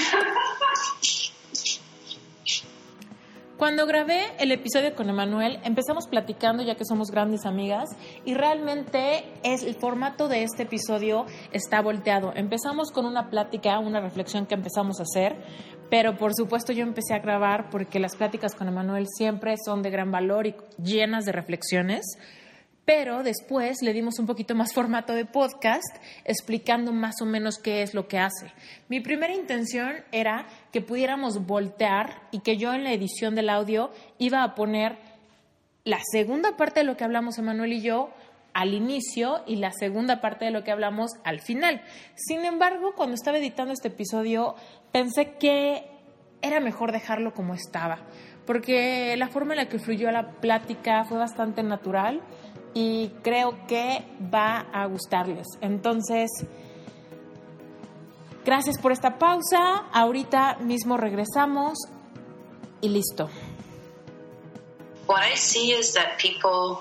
Cuando grabé el episodio con Emanuel, empezamos platicando ya que somos grandes amigas y realmente el formato de este episodio está volteado. Empezamos con una plática, una reflexión que empezamos a hacer, pero por supuesto yo empecé a grabar porque las pláticas con Emanuel siempre son de gran valor y llenas de reflexiones. Pero después le dimos un poquito más formato de podcast, explicando más o menos qué es lo que hace. Mi primera intención era que pudiéramos voltear y que yo en la edición del audio iba a poner la segunda parte de lo que hablamos Emanuel y yo al inicio y la segunda parte de lo que hablamos al final. Sin embargo, cuando estaba editando este episodio, pensé que era mejor dejarlo como estaba, porque la forma en la que fluyó la plática fue bastante natural y creo que va a gustarles. Entonces, gracias por esta pausa. Ahorita mismo regresamos y listo. What I see is that people,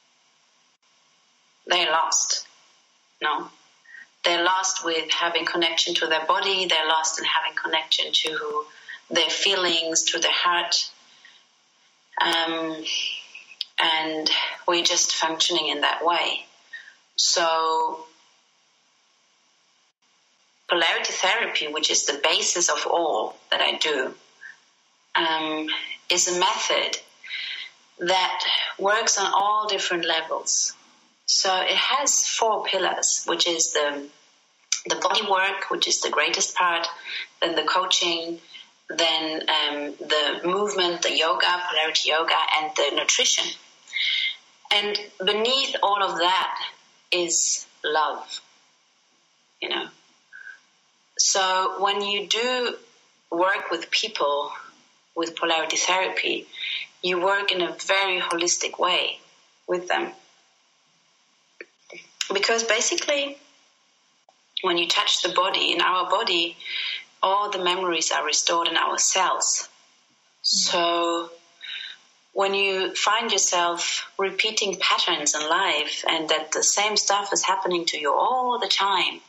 they're lost. No. They're lost with having connection to their body. They're lost in having connection to their feelings, to their heart. and we're just functioning in that way. So polarity therapy, which is the basis of all that I do, is a method that works on all different levels. So it has 4 pillars, which is the body work, which is the greatest part, then the coaching, then the movement, the yoga, polarity yoga, and the nutrition. And beneath all of that is love, you know. So when you do work with people with polarity therapy, you work in a very holistic way with them. Because basically, when you touch the body, in our body, all the memories are restored in our cells. So when you find yourself repeating patterns in life and that the same stuff is happening to you all the time,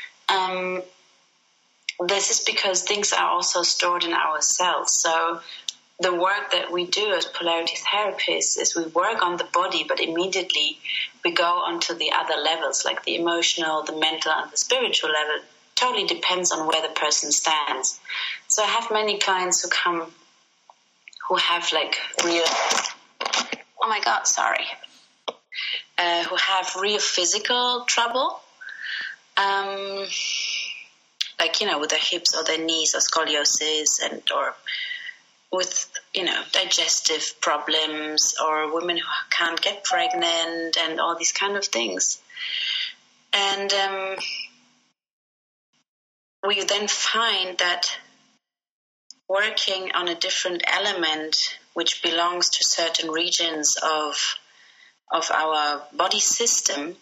this is because things are also stored in our cells. So the work that we do as polarity therapists is we work on the body, but immediately we go onto the other levels, like the emotional, the mental, and the spiritual level. Totally depends on where the person stands. So I have many clients who come who have like real, who have real physical trouble, like, you know, with their hips or their knees or scoliosis, and or with, you know, digestive problems, or women who can't get pregnant and all these kind of things. And we then find that working on a different element which belongs to certain regions of our body system,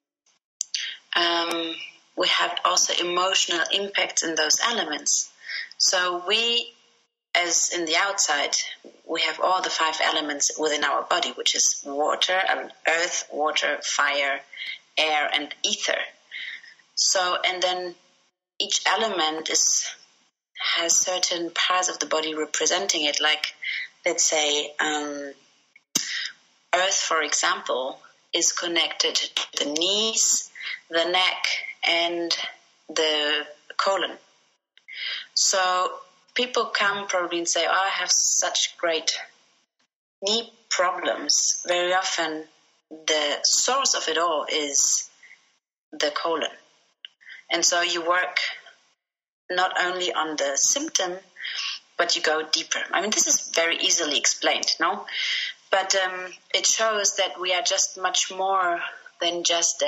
we have also emotional impacts in those elements. So we, as in the outside, we have all the 5 elements within our body, which is water, earth, water, fire, air, and ether. So, and then each element has certain parts of the body representing it. Like, let's say, earth, for example, is connected to the knees, the neck, and the colon. So people come probably and say, oh, I have such great knee problems. Very often the source of it all is the colon. And so you work not only on the symptom, but you go deeper. I mean, this is very easily explained, no? But it shows that we are just much more than just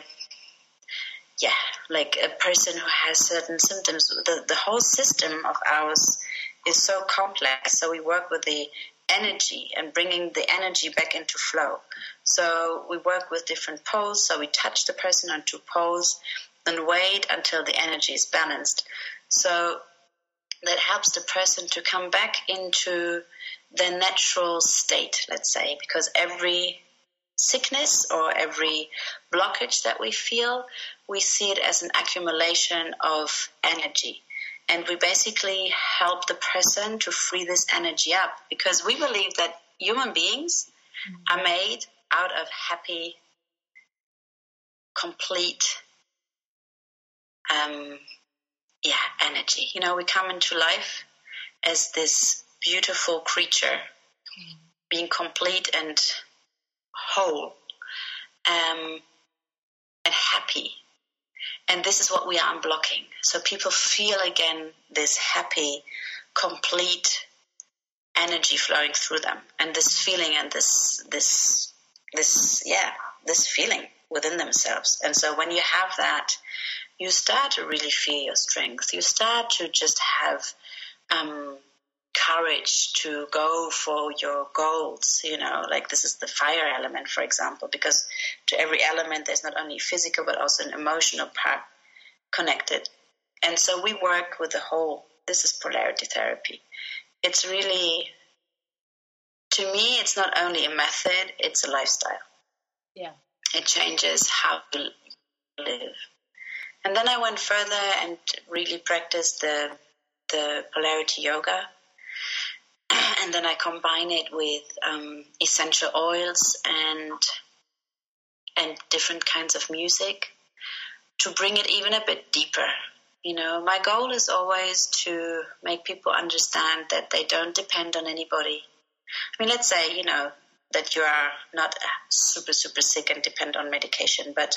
like a person who has certain symptoms. The whole system of ours is so complex. So we work with the energy and bringing the energy back into flow. So we work with different poles. So we touch the person on 2 poles and wait until the energy is balanced. So that helps the person to come back into their natural state, let's say, because every sickness or every blockage that we feel, we see it as an accumulation of energy. And we basically help the person to free this energy up, because we believe that human beings are made out of happy, complete energy. You know, we come into life as this beautiful creature, being complete and whole, and happy. And this is what we are unblocking. So people feel again this happy, complete energy flowing through them, and this feeling and this feeling within themselves. And so when you have that, you start to really feel your strength. You start to just have courage to go for your goals, you know, like this is the fire element, for example, because to every element there's not only physical but also an emotional part connected. And so we work with the whole. This is polarity therapy. It's really, to me, it's not only a method, it's a lifestyle. Yeah. It changes how to live. And then I went further and really practiced the polarity yoga. And And then I combine it with essential oils and different kinds of music to bring it even a bit deeper. You know, my goal is always to make people understand that they don't depend on anybody. I mean, let's say, you know, that you are not super, super sick and depend on medication, but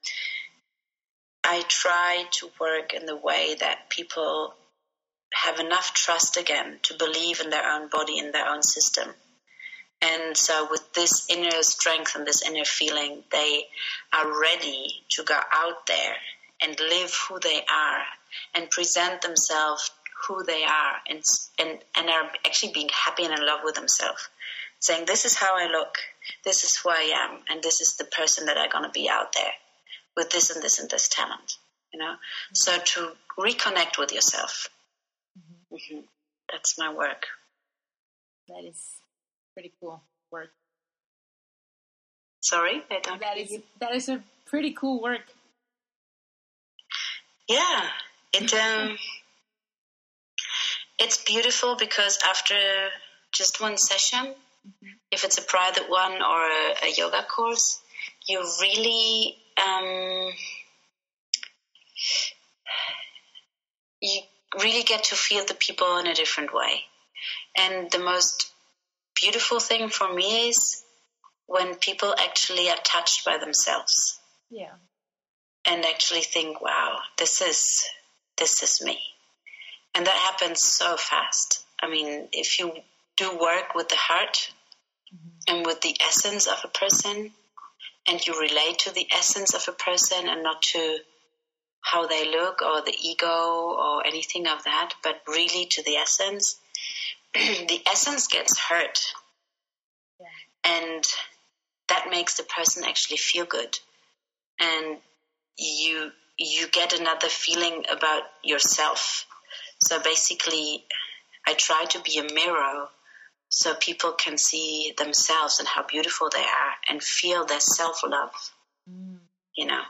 I try to work in the way that people have enough trust again to believe in their own body, in their own system. And so with this inner strength and this inner feeling, they are ready to go out there and live who they are and present themselves who they are and are actually being happy and in love with themselves. Saying, this is how I look, this is who I am, and this is the person that I'm going to be out there with this and this and this talent, you know. Mm-hmm. So to reconnect with yourself. Mm-hmm. Mm-hmm. That's my work. That is pretty cool work. Sorry? I don't that is a pretty cool work. Yeah. It's beautiful because after just one session, mm-hmm. if it's a private one or a yoga course, you really get to feel the people in a different way. And the most beautiful thing for me is when people actually are touched by themselves. Yeah. And actually think, wow, this is me. And that happens so fast. I mean, if you do work with the heart mm-hmm. and with the essence of a person, and you relate to the essence of a person and not to how they look or the ego or anything of that, but really to the essence, the essence gets hurt. Yeah. And that makes the person actually feel good. And you get another feeling about yourself. So basically, I try to be a mirror so people can see themselves and how beautiful they are and feel their self-love, you know,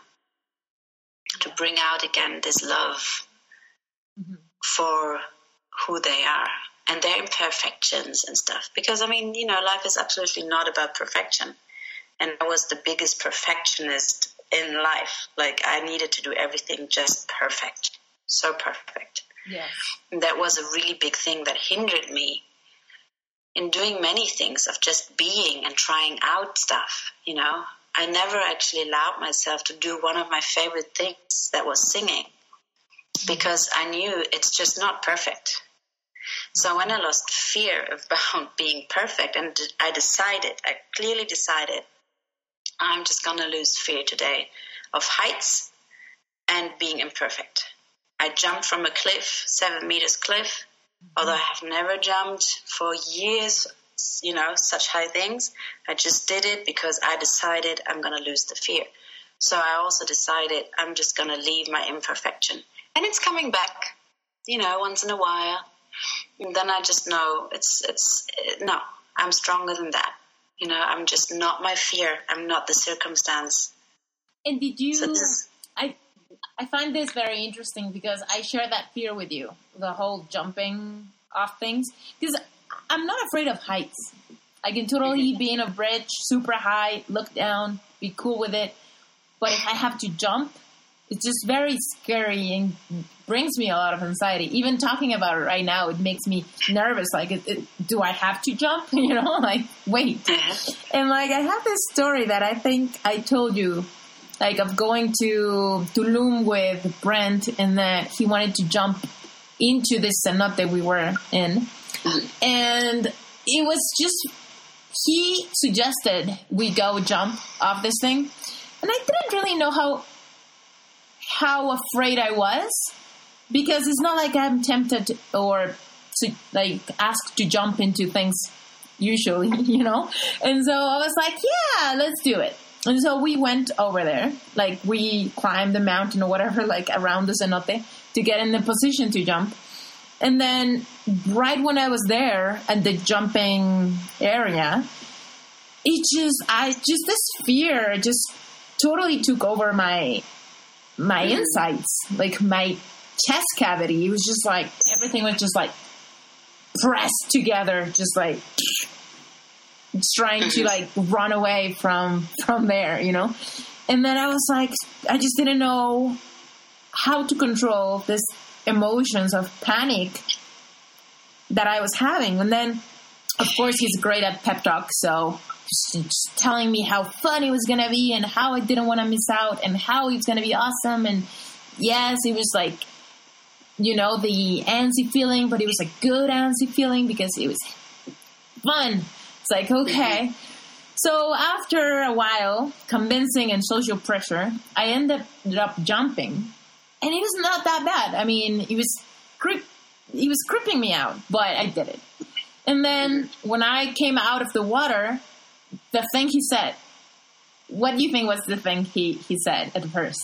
to bring out again this love mm-hmm. for who they are and their imperfections and stuff. Because, I mean, you know, life is absolutely not about perfection. And I was the biggest perfectionist in life. Like, I needed to do everything just perfect, so perfect. Yes. And that was a really big thing that hindered me in doing many things, of just being and trying out stuff, you know. I never actually allowed myself to do one of my favorite things, that was singing, because I knew it's just not perfect. So when I lost fear about being perfect, and I clearly decided, I'm just going to lose fear today of heights and being imperfect. I jumped from a cliff, 7 meters cliff, although I have never jumped for years, you know, such high things. I just did it because I decided I'm going to lose the fear. So I also decided I'm just going to leave my imperfection. And it's coming back, you know, once in a while. And then I just know no, I'm stronger than that. You know, I'm just not my fear. I'm not the circumstance. And did you... I find this very interesting because I share that fear with you, the whole jumping off things. Because I'm not afraid of heights. I can totally be in a bridge, super high, look down, be cool with it. But if I have to jump, it's just very scary and brings me a lot of anxiety. Even talking about it right now, it makes me nervous. Like, do I have to jump? You know, like, wait. And, like, I have this story that I think I told you, like, of going to Tulum with Brent, and that he wanted to jump into this cenote that we were in. And it was just, he suggested we go jump off this thing. And I didn't really know how afraid I was, because it's not like I'm tempted or like asked to jump into things usually, you know? And so I was like, yeah, let's do it. And so we went over there, like we climbed the mountain or whatever, like around the cenote to get in the position to jump. And then right when I was there at the jumping area, this fear just totally took over my insides, like my chest cavity. It was just like, everything was just like pressed together, just like trying to like run away from there, you know? And then I was like, I just didn't know how to control this emotions of panic that I was having. And then, of course, he's great at pep talk, so just telling me how fun it was going to be and how I didn't want to miss out and how it's going to be awesome. And yes, it was like, you know, the antsy feeling, but it was a good antsy feeling because it was fun. It's like, okay. So after a while, convincing and social pressure, I ended up jumping. And it was not that bad. I mean, it was creeping me out, but I did it. And then when I came out of the water, the thing he said, what do you think was the thing he said at first?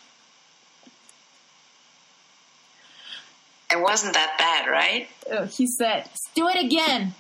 It wasn't that bad, right? He said, do it again.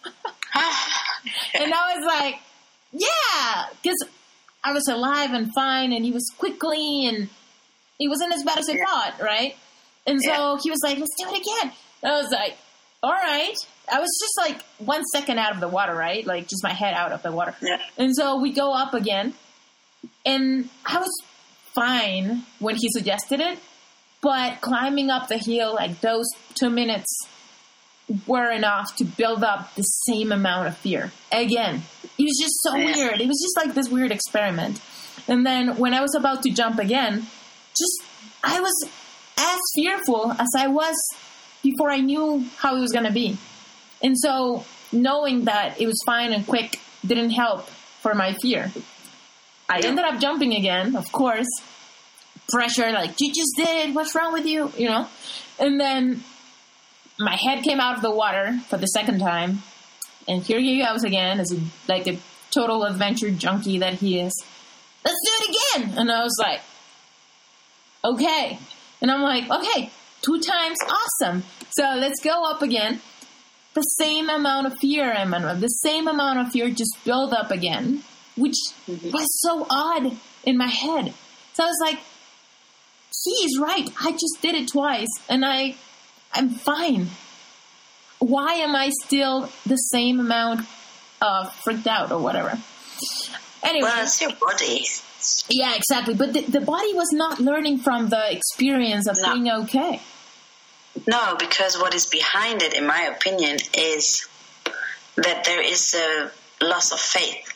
And I was like, yeah, because I was alive and fine, and he was quickly, and it wasn't as bad as I thought, right? And so he was like, let's do it again. And I was like, all right. I was just like 1 second out of the water, right? Like just my head out of the water. Yeah. And so we go up again, and I was fine when he suggested it, but climbing up the hill, like those 2 minutes were enough to build up the same amount of fear. Again, it was just so weird. It was just like this weird experiment. And then when I was about to jump again, I was as fearful as I was before I knew how it was going to be. And so knowing that it was fine and quick didn't help for my fear. I ended up jumping again, of course. Pressure, like, you just did it. What's wrong with you? You know? And then my head came out of the water for the second time. And here he goes again, as a total adventure junkie that he is. Let's do it again. And I was like, okay. And I'm like, okay, 2 times, awesome. So let's go up again. The same amount of fear, Emmanuel, the same amount of fear just built up again, which was so odd in my head. So I was like, he's right. I just did it twice, and I'm fine. Why am I still the same amount of freaked out or whatever? Anyway. Well, it's your body. Yeah, exactly. But the body was not learning from the experience of being okay. No, because what is behind it, in my opinion, is that there is a loss of faith.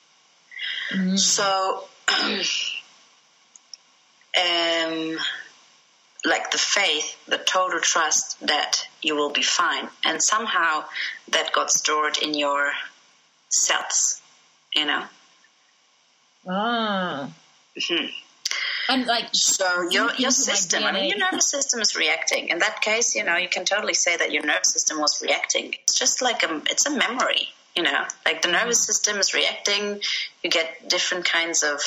So, like the faith, the total trust that you will be fine. And somehow that got stored in your cells, you know? Ah. Mm-hmm. And like, so your system, I mean, your nervous system is reacting. In that case, you know, you can totally say that your nervous system was reacting. It's just like it's a memory, you know, like the nervous system is reacting. You get different kinds of,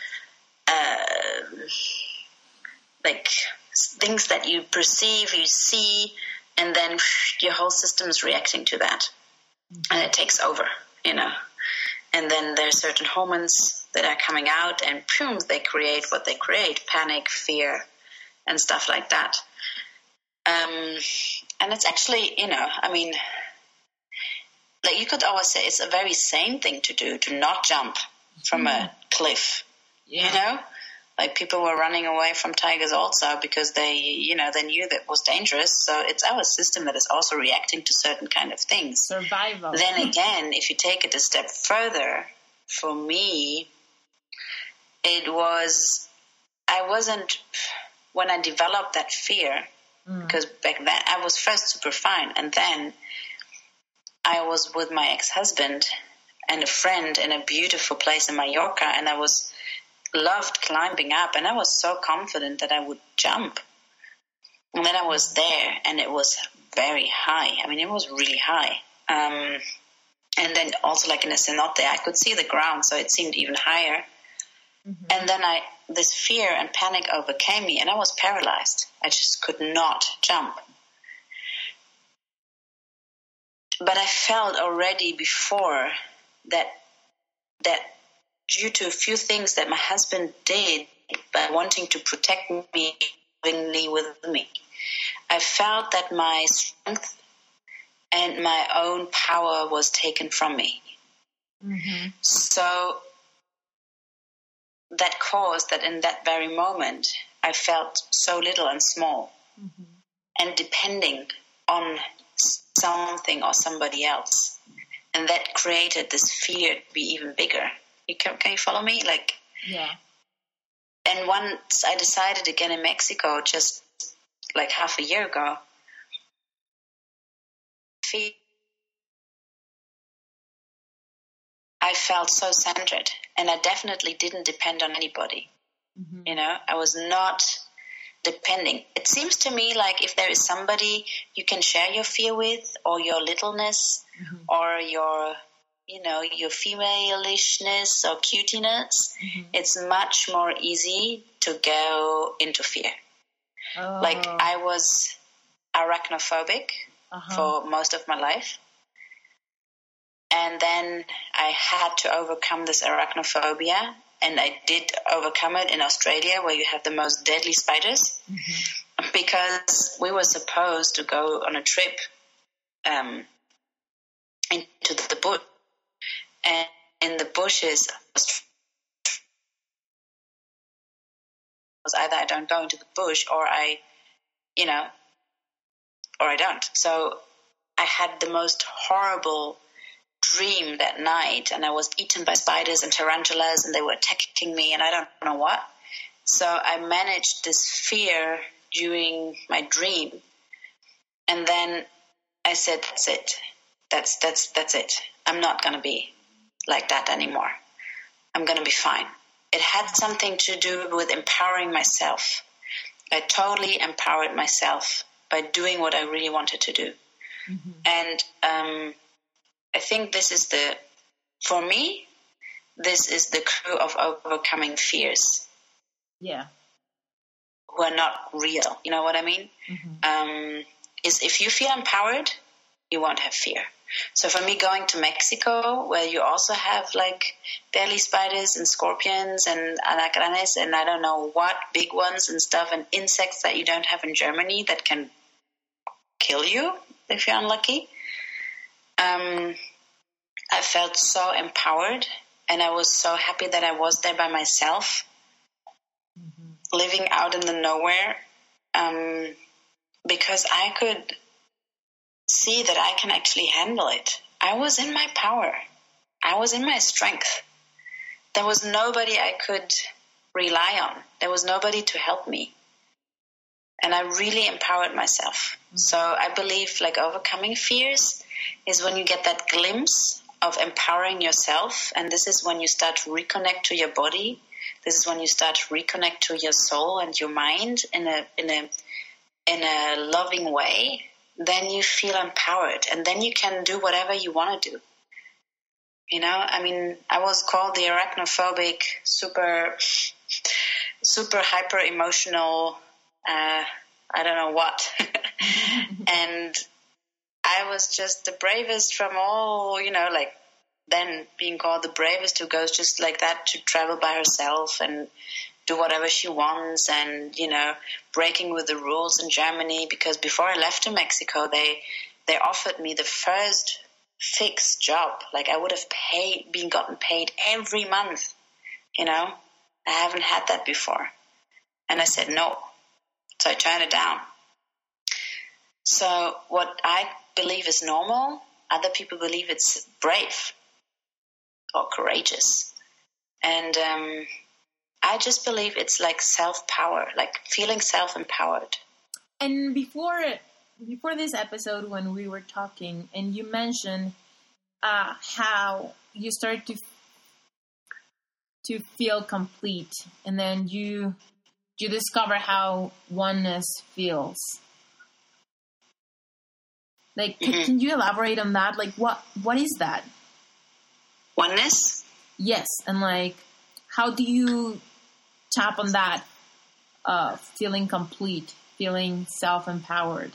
like things that you perceive, you see, and then your whole system is reacting to that, and it takes over, you know. And then there are certain hormones that are coming out, and boom, they create what they create: panic, fear, and stuff like that. And it's actually, you know, I mean, like you could always say it's a very sane thing to do, to not jump from a cliff, you know? Like people were running away from tigers also because they, you know, they knew that it was dangerous. So it's our system that is also reacting to certain kind of things. Survival. Then again, if you take it a step further, for me, it was, when I developed that fear, because back then I was first super fine, and then I was with my ex-husband and a friend in a beautiful place in Mallorca, and I loved climbing up, and I was so confident that I would jump. And then I was there, and it was very high. I mean, it was really high. And then also like in a cenote, I could see the ground, so it seemed even higher. And then this fear and panic overcame me, and I was paralyzed. I just could not jump. But I felt already before that due to a few things that my husband did by wanting to protect me lovingly with me, I felt that my strength and my own power was taken from me. Mm-hmm. So that caused that in that very moment, I felt so little and small and depending on something or somebody else. And that created this fear to be even bigger. Can you follow me? Like, Yeah. and once I decided again in Mexico, just like half a year ago, I felt so centered, and I definitely didn't depend on anybody. Mm-hmm. You know, I was not depending. It seems to me like if there is somebody you can share your fear with, or your littleness, or your, you know, your femalishness or cutiness, it's much more easy to go into fear. Oh. Like, I was arachnophobic for most of my life. And then I had to overcome this arachnophobia, and I did overcome it in Australia, where you have the most deadly spiders, because we were supposed to go on a trip into the bush, and in the bushes was either I don't go into the bush, or I, you know, or I don't. So I had the most horrible dream that night, and I was eaten by spiders and tarantulas, and they were attacking me, and I don't know what. So I managed this fear during my dream, and then I said, "That's it. That's it. I'm not going to be like that anymore. I'm going to be fine." It had something to do with empowering myself. I totally empowered myself by doing what I really wanted to do, and I think this is for me, this is the crew of overcoming fears. Yeah. Who are not real. You know what I mean? Is if you feel empowered, you won't have fear. So for me, going to Mexico, where you also have like deadly spiders and scorpions and alacranes and I don't know what, big ones and stuff, and insects that you don't have in Germany that can kill you if you're unlucky. I felt so empowered, and I was so happy that I was there by myself, living out in the nowhere, because I could see that I can actually handle it. I was in my power. I was in my strength. There was nobody I could rely on. There was nobody to help me. And I really empowered myself. So I believe like overcoming fears is when you get that glimpse of empowering yourself. And this is when you start to reconnect to your body. This is when you start to reconnect to your soul and your mind in a loving way. Then you feel empowered, and then you can do whatever you want to do. You know, I mean, I was called the arachnophobic, super hyper emotional, I don't know what. And I was just the bravest from all, you know, like then being called the bravest who goes just like that to travel by herself and do whatever she wants, and, you know, breaking with the rules in Germany, because before I left to Mexico, they offered me the first fixed job. Like I would have gotten paid every month, you know. I haven't had that before. And I said no. So I turned it down. So what I believe is normal, other people believe it's brave or courageous. And I just believe it's like self-power, like feeling self-empowered. And before this episode, when we were talking, and you mentioned how you started to feel complete, and then you discover how oneness feels. Like, can you elaborate on that? Like, what is that? Oneness? Yes, and like, how do you tap on that? Feeling complete, feeling self-empowered.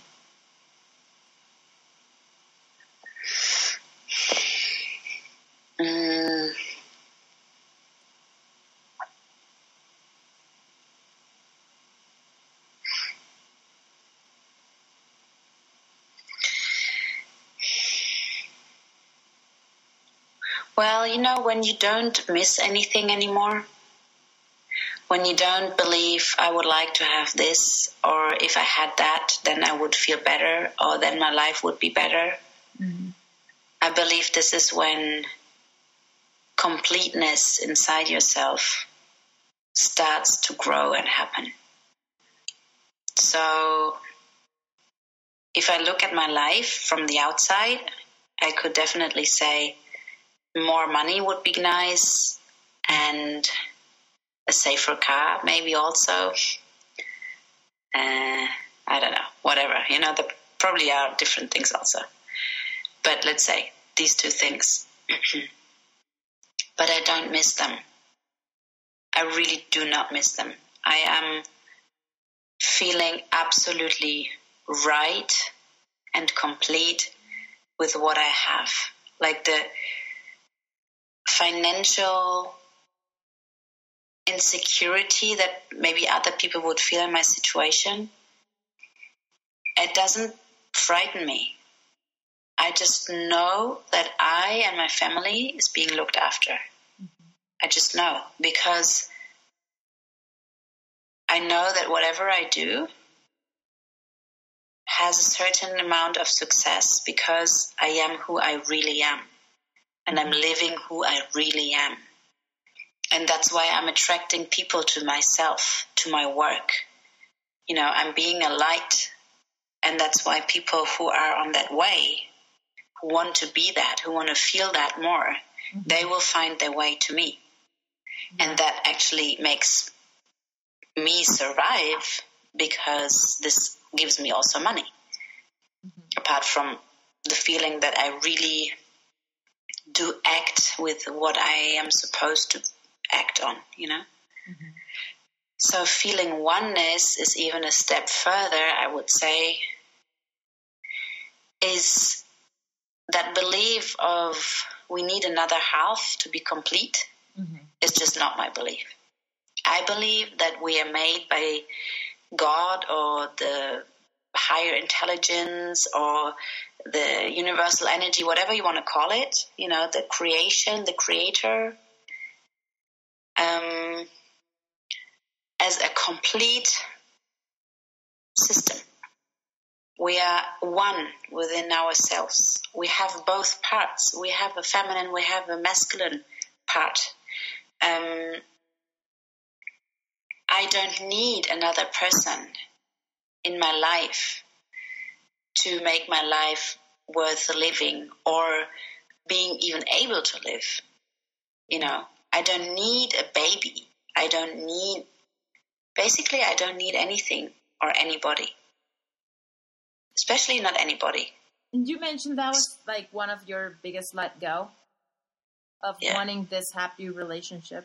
Well, when you don't miss anything anymore, when you don't believe I would like to have this, or if I had that, then I would feel better, or then my life would be better. Mm-hmm. I believe this is when completeness inside yourself starts to grow and happen. So if I look at my life from the outside, I could definitely say more money would be nice, and a safer car maybe also. I don't know, whatever. There probably are different things also. But let's say these two things. But I don't miss them. I really do not miss them. I am feeling absolutely right and complete with what I have. Like the financial insecurity that maybe other people would feel in my situation, it doesn't frighten me. I just know that I and my family is being looked after. Mm-hmm. I just know, because I know that whatever I do has a certain amount of success because I am who I really am. And I'm living who I really am. And that's why I'm attracting people to myself, to my work. I'm being a light. And that's why people who are on that way, who want to be that, who want to feel that more, mm-hmm. they will find their way to me. Mm-hmm. And that actually makes me survive, because this gives me also money. Mm-hmm. Apart from the feeling that I really do act with what I am supposed to act on, Mm-hmm. So feeling oneness is even a step further, I would say, is that belief of we need another half to be complete. Mm-hmm. is just not my belief. I believe that we are made by God or the higher intelligence or the universal energy, whatever you want to call it, the creation, the creator, as a complete system. We are one within ourselves. We have both parts. We have a feminine, we have a masculine part. I don't need another person in my life to make my life worth living or being even able to live. I don't need a baby. I don't need anything or anybody. Especially not anybody. You mentioned that was like one of your biggest let go of wanting this happy relationship.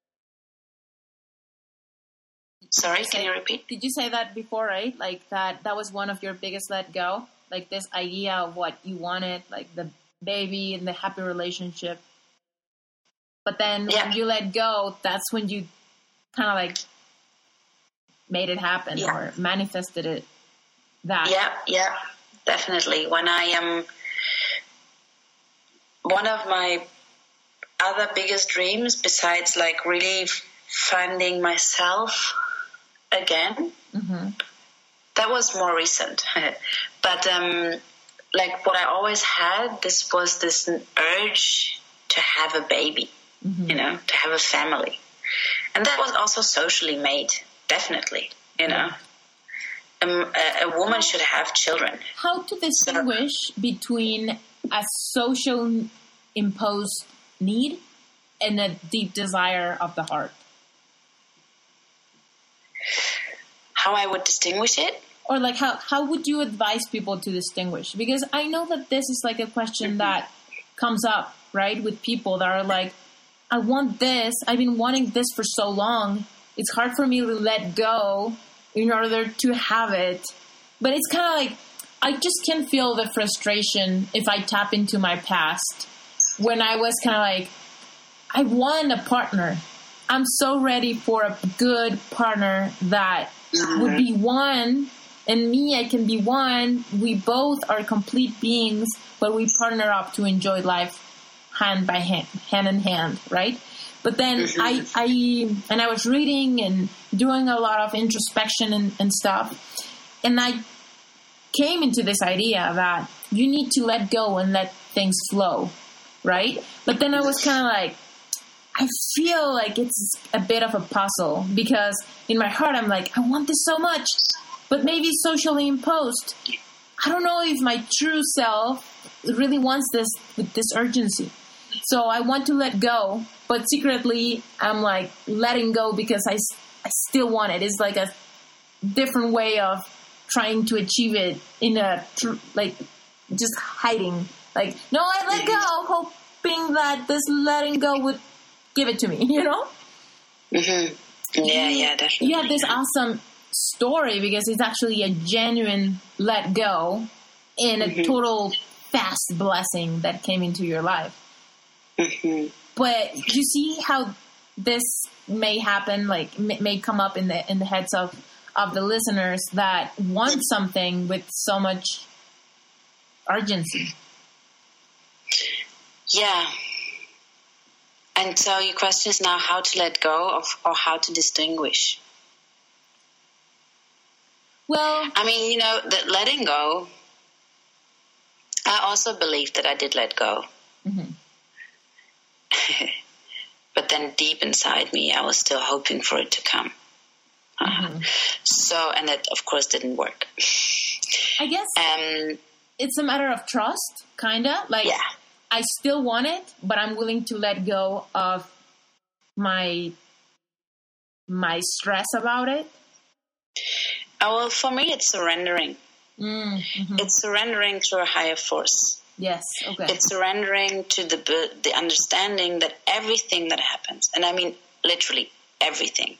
Sorry, can you repeat? Did you say that before, right? Like that was one of your biggest let go? Like this idea of what you wanted, like the baby and the happy relationship. But then when you let go, that's when you kind of like made it happen or manifested it. Yeah, definitely. When I am, one of my other biggest dreams, besides like really finding myself again, mm-hmm. that was more recent. But like what I always had, this was this urge to have a baby, mm-hmm. To have a family. And that was also socially made, definitely, A woman should have children. How to distinguish between a social imposed need and a deep desire of the heart? How I would distinguish it? Or like how would you advise people to distinguish? Because I know that this is like a question mm-hmm. that comes up, right, with people that are like, I want this. I've been wanting this for so long. It's hard for me to let go in order to have it. But it's kind of like, I just can feel the frustration if I tap into my past when I was kind of like, I want a partner. I'm so ready for a good partner that would be one, and me, I can be one. We both are complete beings, but we partner up to enjoy life. hand in hand, right? But then I was reading and doing a lot of introspection and stuff, and I came into this idea that you need to let go and let things flow, right? But then I was kind of like, I feel like it's a bit of a puzzle, because in my heart I'm like, I want this so much, but maybe socially imposed. I don't know if my true self really wants this with this urgency. So I want to let go, but secretly I'm like letting go because I still want it. It's like a different way of trying to achieve it in a, like, just hiding. Like, no, I let go, hoping that this letting go would give it to me, you know? Mm-hmm. Yeah, definitely. You have this awesome story because it's actually a genuine let go and a total fast blessing that came into your life. Mm-hmm. But you see how this may happen, like may come up in the heads of the listeners that want something with so much urgency. Yeah. And so your question is now how to let go of, or how to distinguish. Well, I mean, you know, that letting go, I also believe that I did let go. Mm-hmm. But then deep inside me, I was still hoping for it to come. So, and that, of course, didn't work. I guess it's a matter of trust, kind of. Like, yeah. I still want it, but I'm willing to let go of my stress about it. Oh, well, for me, it's surrendering. Mm-hmm. It's surrendering to a higher force. Yes, okay. It's surrendering to the understanding that everything that happens, and I mean literally everything,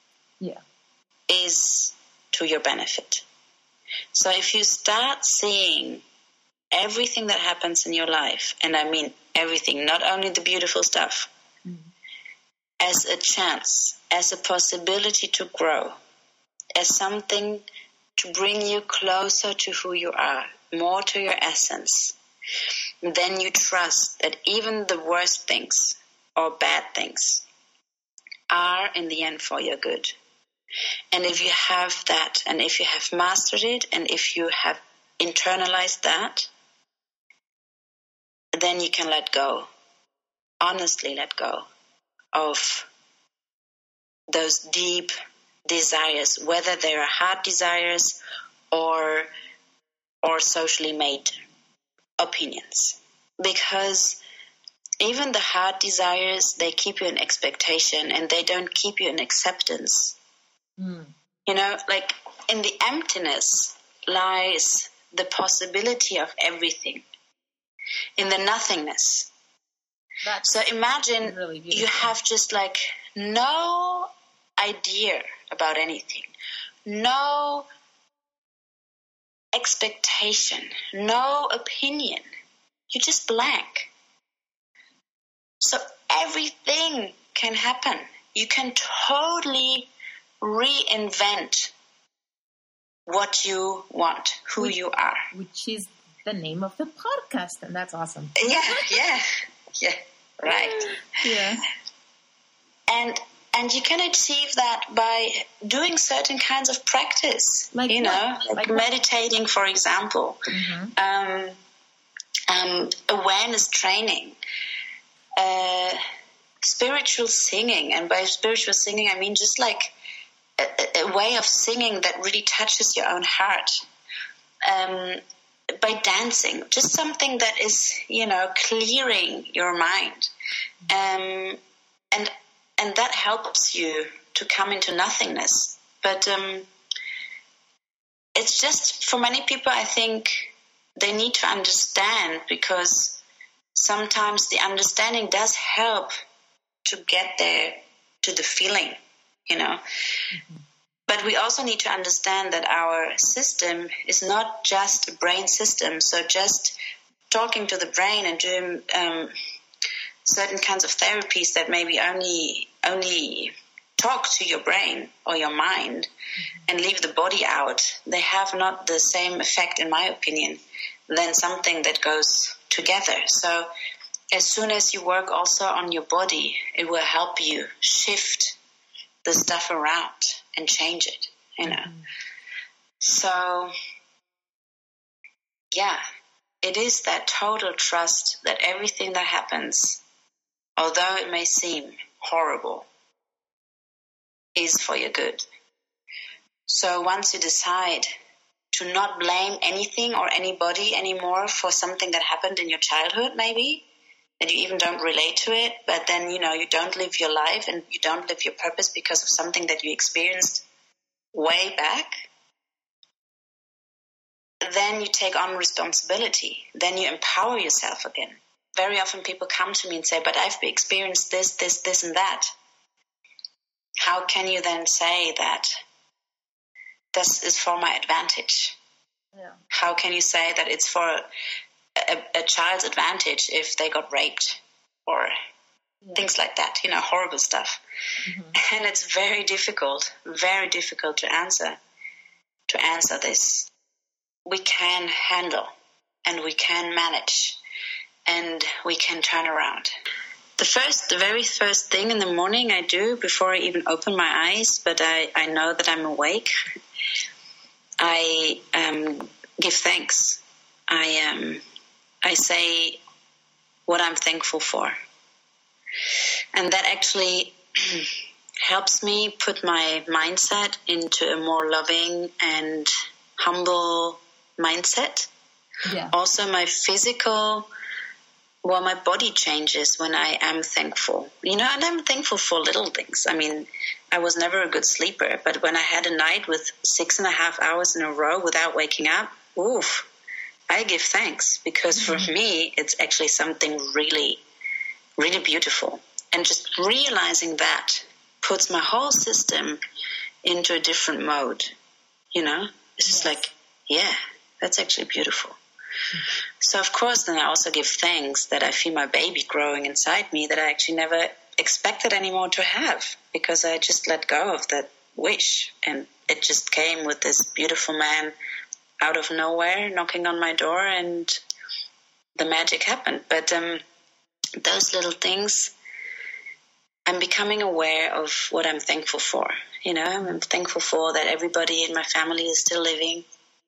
is to your benefit. So if you start seeing everything that happens in your life, and I mean everything, not only the beautiful stuff, as a chance, as a possibility to grow, as something to bring you closer to who you are, more to your essence, then you trust that even the worst things or bad things are in the end for your good. And if you have that, and if you have mastered it, and if you have internalized that, then you can let go, honestly let go of those deep desires, whether they are heart desires or socially made opinions. Because even the heart desires, they keep you in expectation and they don't keep you in acceptance. You know, like in the emptiness lies the possibility of everything. In the nothingness. So imagine really you have just like no idea about anything, no expectation, no opinion. You're just blank. So everything can happen. You can totally reinvent what you want, who you are. Which is the name of the podcast, and that's awesome. Yeah, right. Yeah. And you can achieve that by doing certain kinds of practice, like meditating, for example, awareness training, spiritual singing. And by spiritual singing, I mean just like a way of singing that really touches your own heart. By dancing, just something that is, clearing your mind. And that helps you to come into nothingness. But it's just, for many people, I think they need to understand, because sometimes the understanding does help to get there to the feeling, But we also need to understand that our system is not just a brain system. So just talking to the brain and doing certain kinds of therapies that maybe only talk to your brain or your mind and leave the body out, they have not the same effect, in my opinion, than something that goes together. So as soon as you work also on your body, it will help you shift the stuff around and change it, you know. So, yeah, it is that total trust that everything that happens, although it may seem horrible, is for your good. So once you decide to not blame anything or anybody anymore for something that happened in your childhood, maybe, that you even don't relate to it, but then, you know, you don't live your life and you don't live your purpose because of something that you experienced way back, then you take on responsibility. Then you empower yourself again. Very often people come to me and say, but I've experienced this, and that. How can you then say that this is for my advantage? Yeah. How can you say that it's for a child's advantage if they got raped or things like that, you know, horrible stuff. And it's very difficult to answer this. We can handle and we can manage and we can turn around. The very first thing in the morning I do before I even open my eyes, but I know that I'm awake, I give thanks. I say what I'm thankful for. And that actually helps me put my mindset into a more loving and humble mindset. Yeah. Also my my body changes when I am thankful. You know, and I'm thankful for little things. I mean, I was never a good sleeper, but when I had a night with 6.5 hours in a row without waking up, oof, I give thanks, because for me, it's actually something really, really beautiful. And just realizing that puts my whole system into a different mode. You know, it's just like, yeah, that's actually beautiful. So, of course, then I also give thanks that I feel my baby growing inside me that I actually never expected anymore to have, because I just let go of that wish. And it just came with this beautiful man out of nowhere knocking on my door, and the magic happened. But those little things, I'm becoming aware of what I'm thankful for. You know, I'm thankful for that everybody in my family is still living.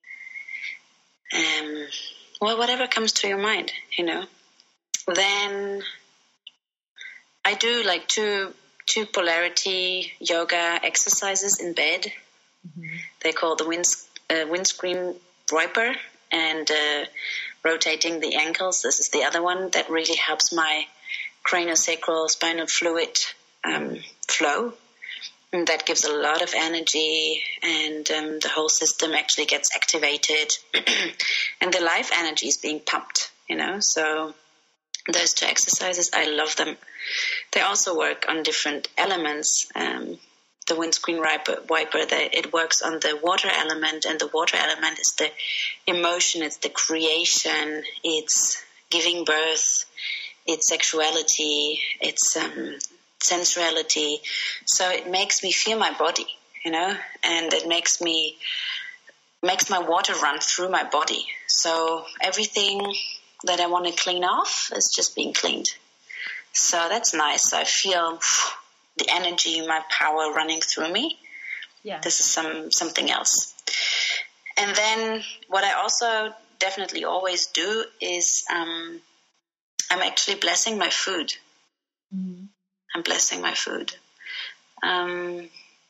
Well, whatever comes to your mind, you know. Then I do like two polarity yoga exercises in bed. They're called the windscreen wiper and rotating the ankles. This is the other one that really helps my craniosacral spinal fluid flow. And that gives a lot of energy, and the whole system actually gets activated, and the life energy is being pumped, you know. So those two exercises, I love them. They also work on different elements. The windscreen wiper, it works on the water element, and the water element is the emotion, it's the creation, it's giving birth, it's sexuality, it's sensuality. So it makes me feel my body, you know, and it makes my water run through my body. So everything that I want to clean off is just being cleaned. So that's nice. I feel the energy, my power running through me. Yeah. This is something else. And then what I also definitely always do is I'm actually blessing my food. Mm-hmm. I'm blessing my food. How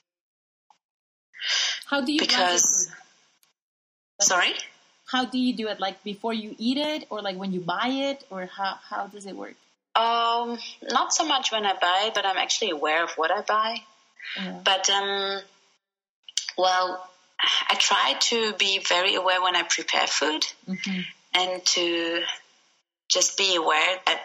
do you bless your food? Sorry? How do you do it? Like before you eat it, or like when you buy it, or how does it work? Not so much when I buy, but I'm actually aware of what I buy. Yeah. But, well, I try to be very aware when I prepare food, and to just be aware that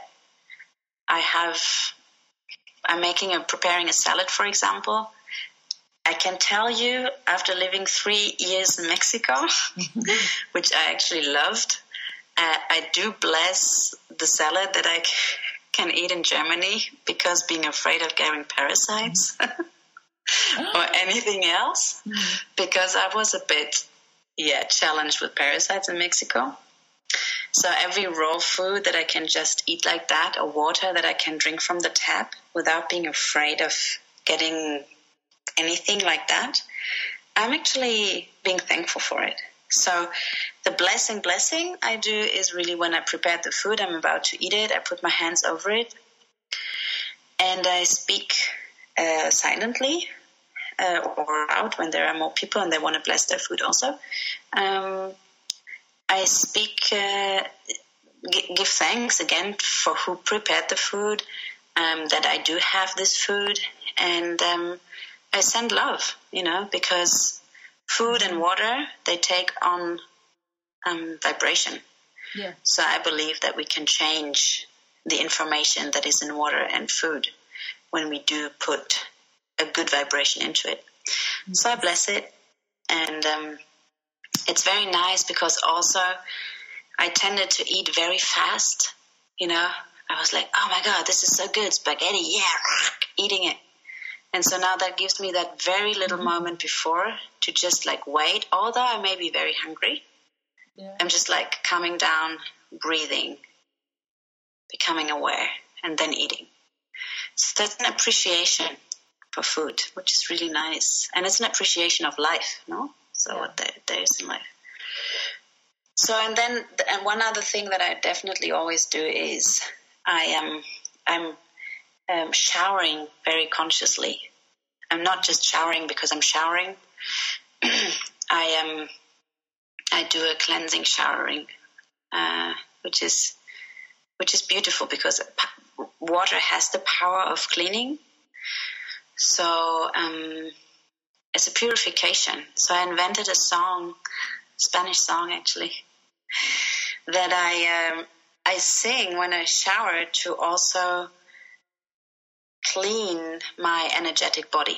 I'm preparing a salad, for example. I can tell you, after living 3 years in Mexico, which I actually loved, I do bless the salad that I can eat in Germany, because being afraid of getting parasites or anything else, because I was a bit, challenged with parasites in Mexico. So every raw food that I can just eat like that, or water that I can drink from the tap without being afraid of getting anything like that, I'm actually being thankful for it. So the blessing I do is really when I prepare the food, I'm about to eat it, I put my hands over it, and I speak silently or out when there are more people and they want to bless their food also. I speak, give thanks again for who prepared the food, that I do have this food, and I send love, because food and water, they take on vibration. Yeah. So I believe that we can change the information that is in water and food when we do put a good vibration into it. Mm-hmm. So I bless it, and it's very nice because also I tended to eat very fast. I was like, oh my God, this is so good, spaghetti, yeah, eating it. And so now that gives me that very little moment before to just like wait, although I may be very hungry. Yeah. I'm just like coming down, breathing, becoming aware, and then eating. So that's an appreciation for food, which is really nice. And it's an appreciation of life, no? So what there is in life. So, and then one other thing that I definitely always do is I'm showering very consciously. I'm not just showering because I'm showering. I do a cleansing showering, which is beautiful because water has the power of cleaning. So it's a purification. So I invented a song, Spanish song actually, that I sing when I shower to also clean my energetic body.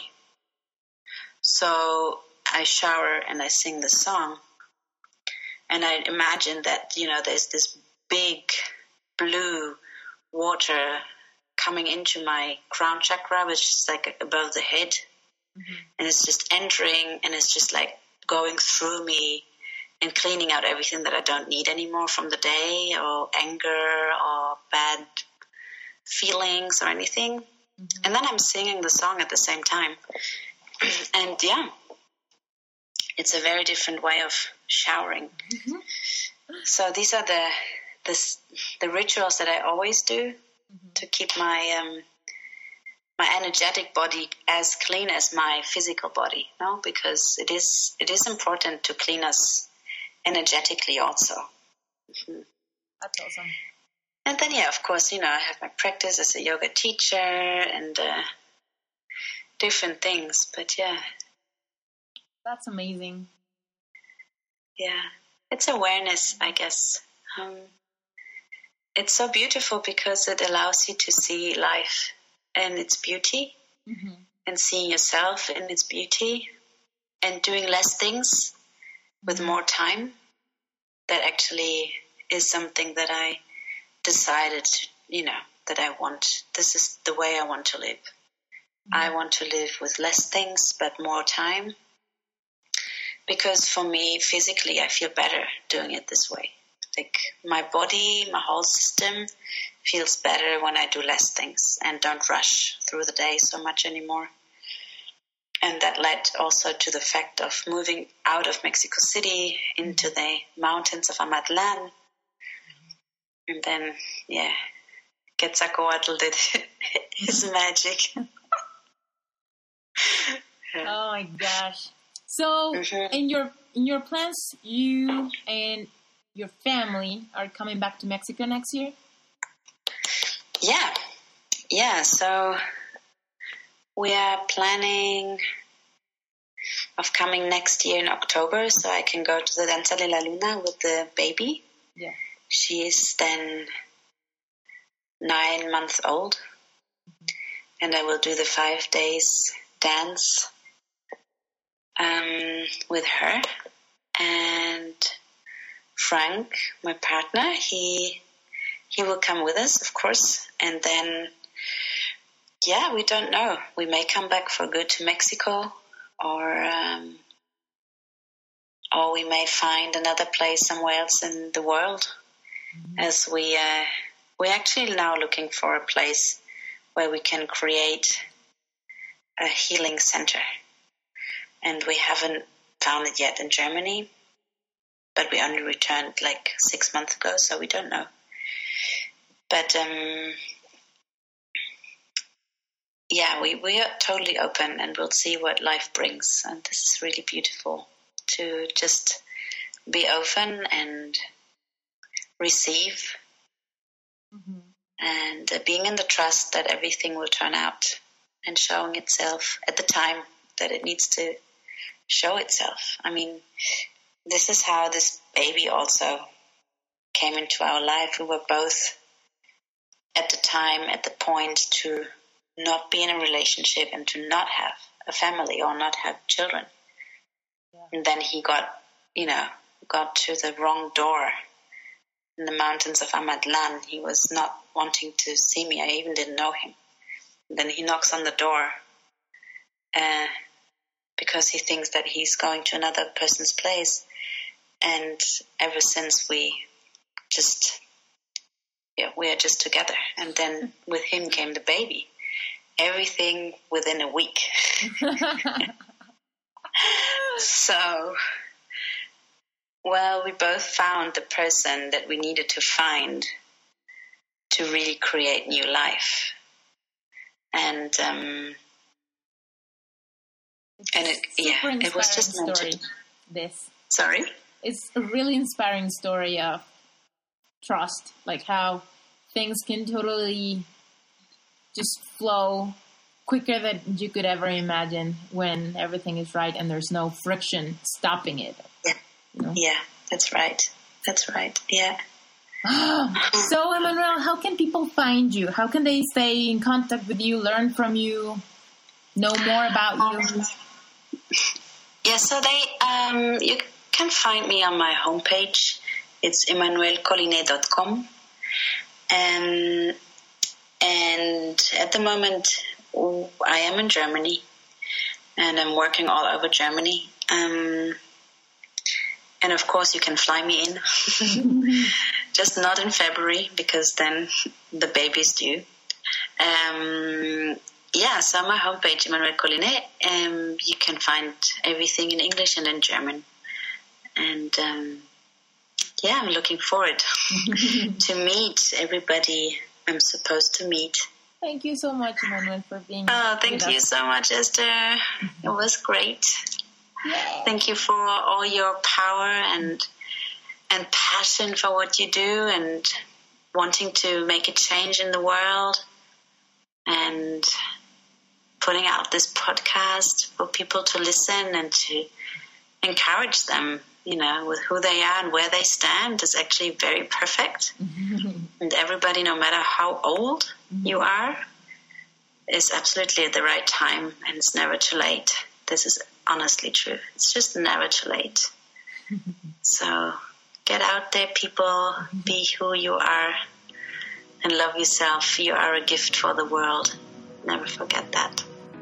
So I shower and I sing the song, and I imagine that there's this big blue water coming into my crown chakra, which is like above the head, and it's just entering, and it's just like going through me and cleaning out everything that I don't need anymore from the day, or anger or bad feelings or anything. And then I'm singing the song at the same time. And it's a very different way of showering. So these are the rituals that I always do to keep my energetic body as clean as my physical body, no? Because it is important to clean us energetically also. That's awesome. And then, of course, I have my practice as a yoga teacher and different things. But, That's amazing. Yeah. It's awareness, I guess. It's so beautiful because it allows you to see life and its beauty, and seeing yourself in its beauty, and doing less things with more time. That actually is something that I decided, that I want. This is the way I want to live. I want to live with less things but more time, because for me, physically, I feel better doing it this way. Like my body, my whole system feels better when I do less things and don't rush through the day so much anymore. And that led also to the fact of moving out of Mexico City into the mountains of Amatlan. And then, Quetzalcoatl did his magic. Oh my gosh. So in your plans, you and your family are coming back to Mexico next year? Yeah, so we are planning of coming next year in October, so I can go to the Danza de la Luna with the baby. Yeah. She is then 9 months old, and I will do the 5 days dance with her. And Frank, my partner, he will come with us, of course. And then, we don't know. We may come back for good to Mexico, or we may find another place somewhere else in the world. as we're actually now looking for a place where we can create a healing center. And we haven't found it yet in Germany, but we only returned like 6 months ago, so we don't know. But we are totally open, and we'll see what life brings. And this is really beautiful to just be open and receive, and being in the trust that everything will turn out and showing itself at the time that it needs to show itself. I mean, this is how this baby also came into our life. We were both at the time, at the point to not be in a relationship and to not have a family or not have children. Yeah. And then he got to the wrong door in the mountains of Amadlan. He was not wanting to see me. I even didn't know him. And then he knocks on the door because he thinks that he's going to another person's place. And ever since we are just together. And then with him came the baby. Everything within a week. So, we both found the person that we needed to find to really create new life. And it was just meant to. This. Sorry? It's a really inspiring story of trust, like how things can totally just flow quicker than you could ever imagine when everything is right and there's no friction stopping it. Yeah, yeah, that's right. Yeah. So, Emmanuel, how can people find you? How can they stay in contact with you, learn from you, know more about you? Yeah, so you can find me on my homepage. It's emmanuelcollinet.com. And at the moment, I am in Germany, and I'm working all over Germany. And of course, you can fly me in, just not in February, because then the baby's due. So on my homepage, Emmanuel Collinet, you can find everything in English and in German. And I'm looking forward to meet everybody I'm supposed to meet. Thank you so much, Emmanuel, for being thank you so much, Esther. It was great. Yay. Thank you for all your power and passion for what you do and wanting to make a change in the world and putting out this podcast for people to listen and to encourage them, with who they are and where they stand is actually very perfect. And everybody, no matter how old you are, is absolutely at the right time, and it's never too late. This is honestly true. It's just never too late. So get out there, people. Be who you are and love yourself. You are a gift for the world. Never forget that.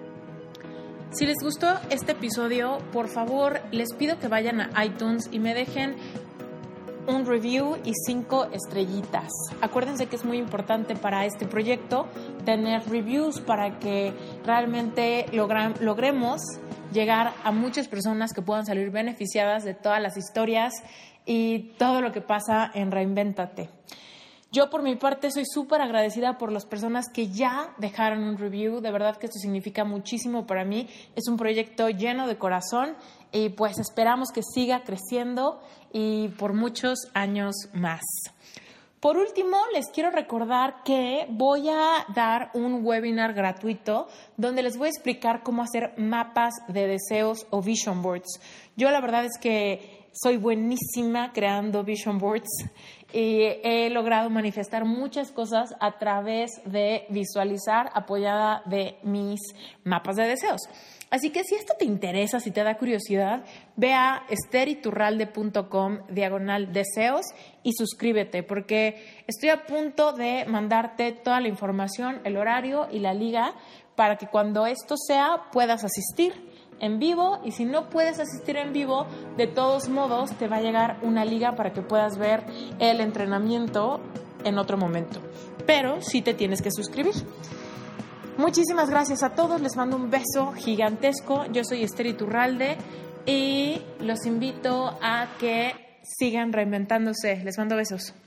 Si les gustó este episodio, por favor, les pido que vayan a iTunes y me dejen un review y 5 estrellitas. Acuérdense que es muy importante para este proyecto tener reviews para que realmente logremos llegar a muchas personas que puedan salir beneficiadas de todas las historias y todo lo que pasa en Reinvéntate. Yo, por mi parte, soy súper agradecida por las personas que ya dejaron un review. De verdad que esto significa muchísimo para mí. Es un proyecto lleno de corazón y pues esperamos que siga creciendo y por muchos años más. Por último, les quiero recordar que voy a dar un webinar gratuito donde les voy a explicar cómo hacer mapas de deseos o vision boards. Yo la verdad es que soy buenísima creando vision boards y he logrado manifestar muchas cosas a través de visualizar apoyada de mis mapas de deseos. Así que si esto te interesa, si te da curiosidad, ve a esteriturralde.com/deseos y suscríbete, porque estoy a punto de mandarte toda la información, el horario y la liga para que cuando esto sea puedas asistir. en vivo, y si no puedes asistir en vivo, de todos modos te va a llegar una liga para que puedas ver el entrenamiento en otro momento, pero sí te tienes que suscribir. Muchísimas gracias a todos, les mando un beso gigantesco. Yo soy Esther Iturralde y los invito a que sigan reinventándose. Les mando besos.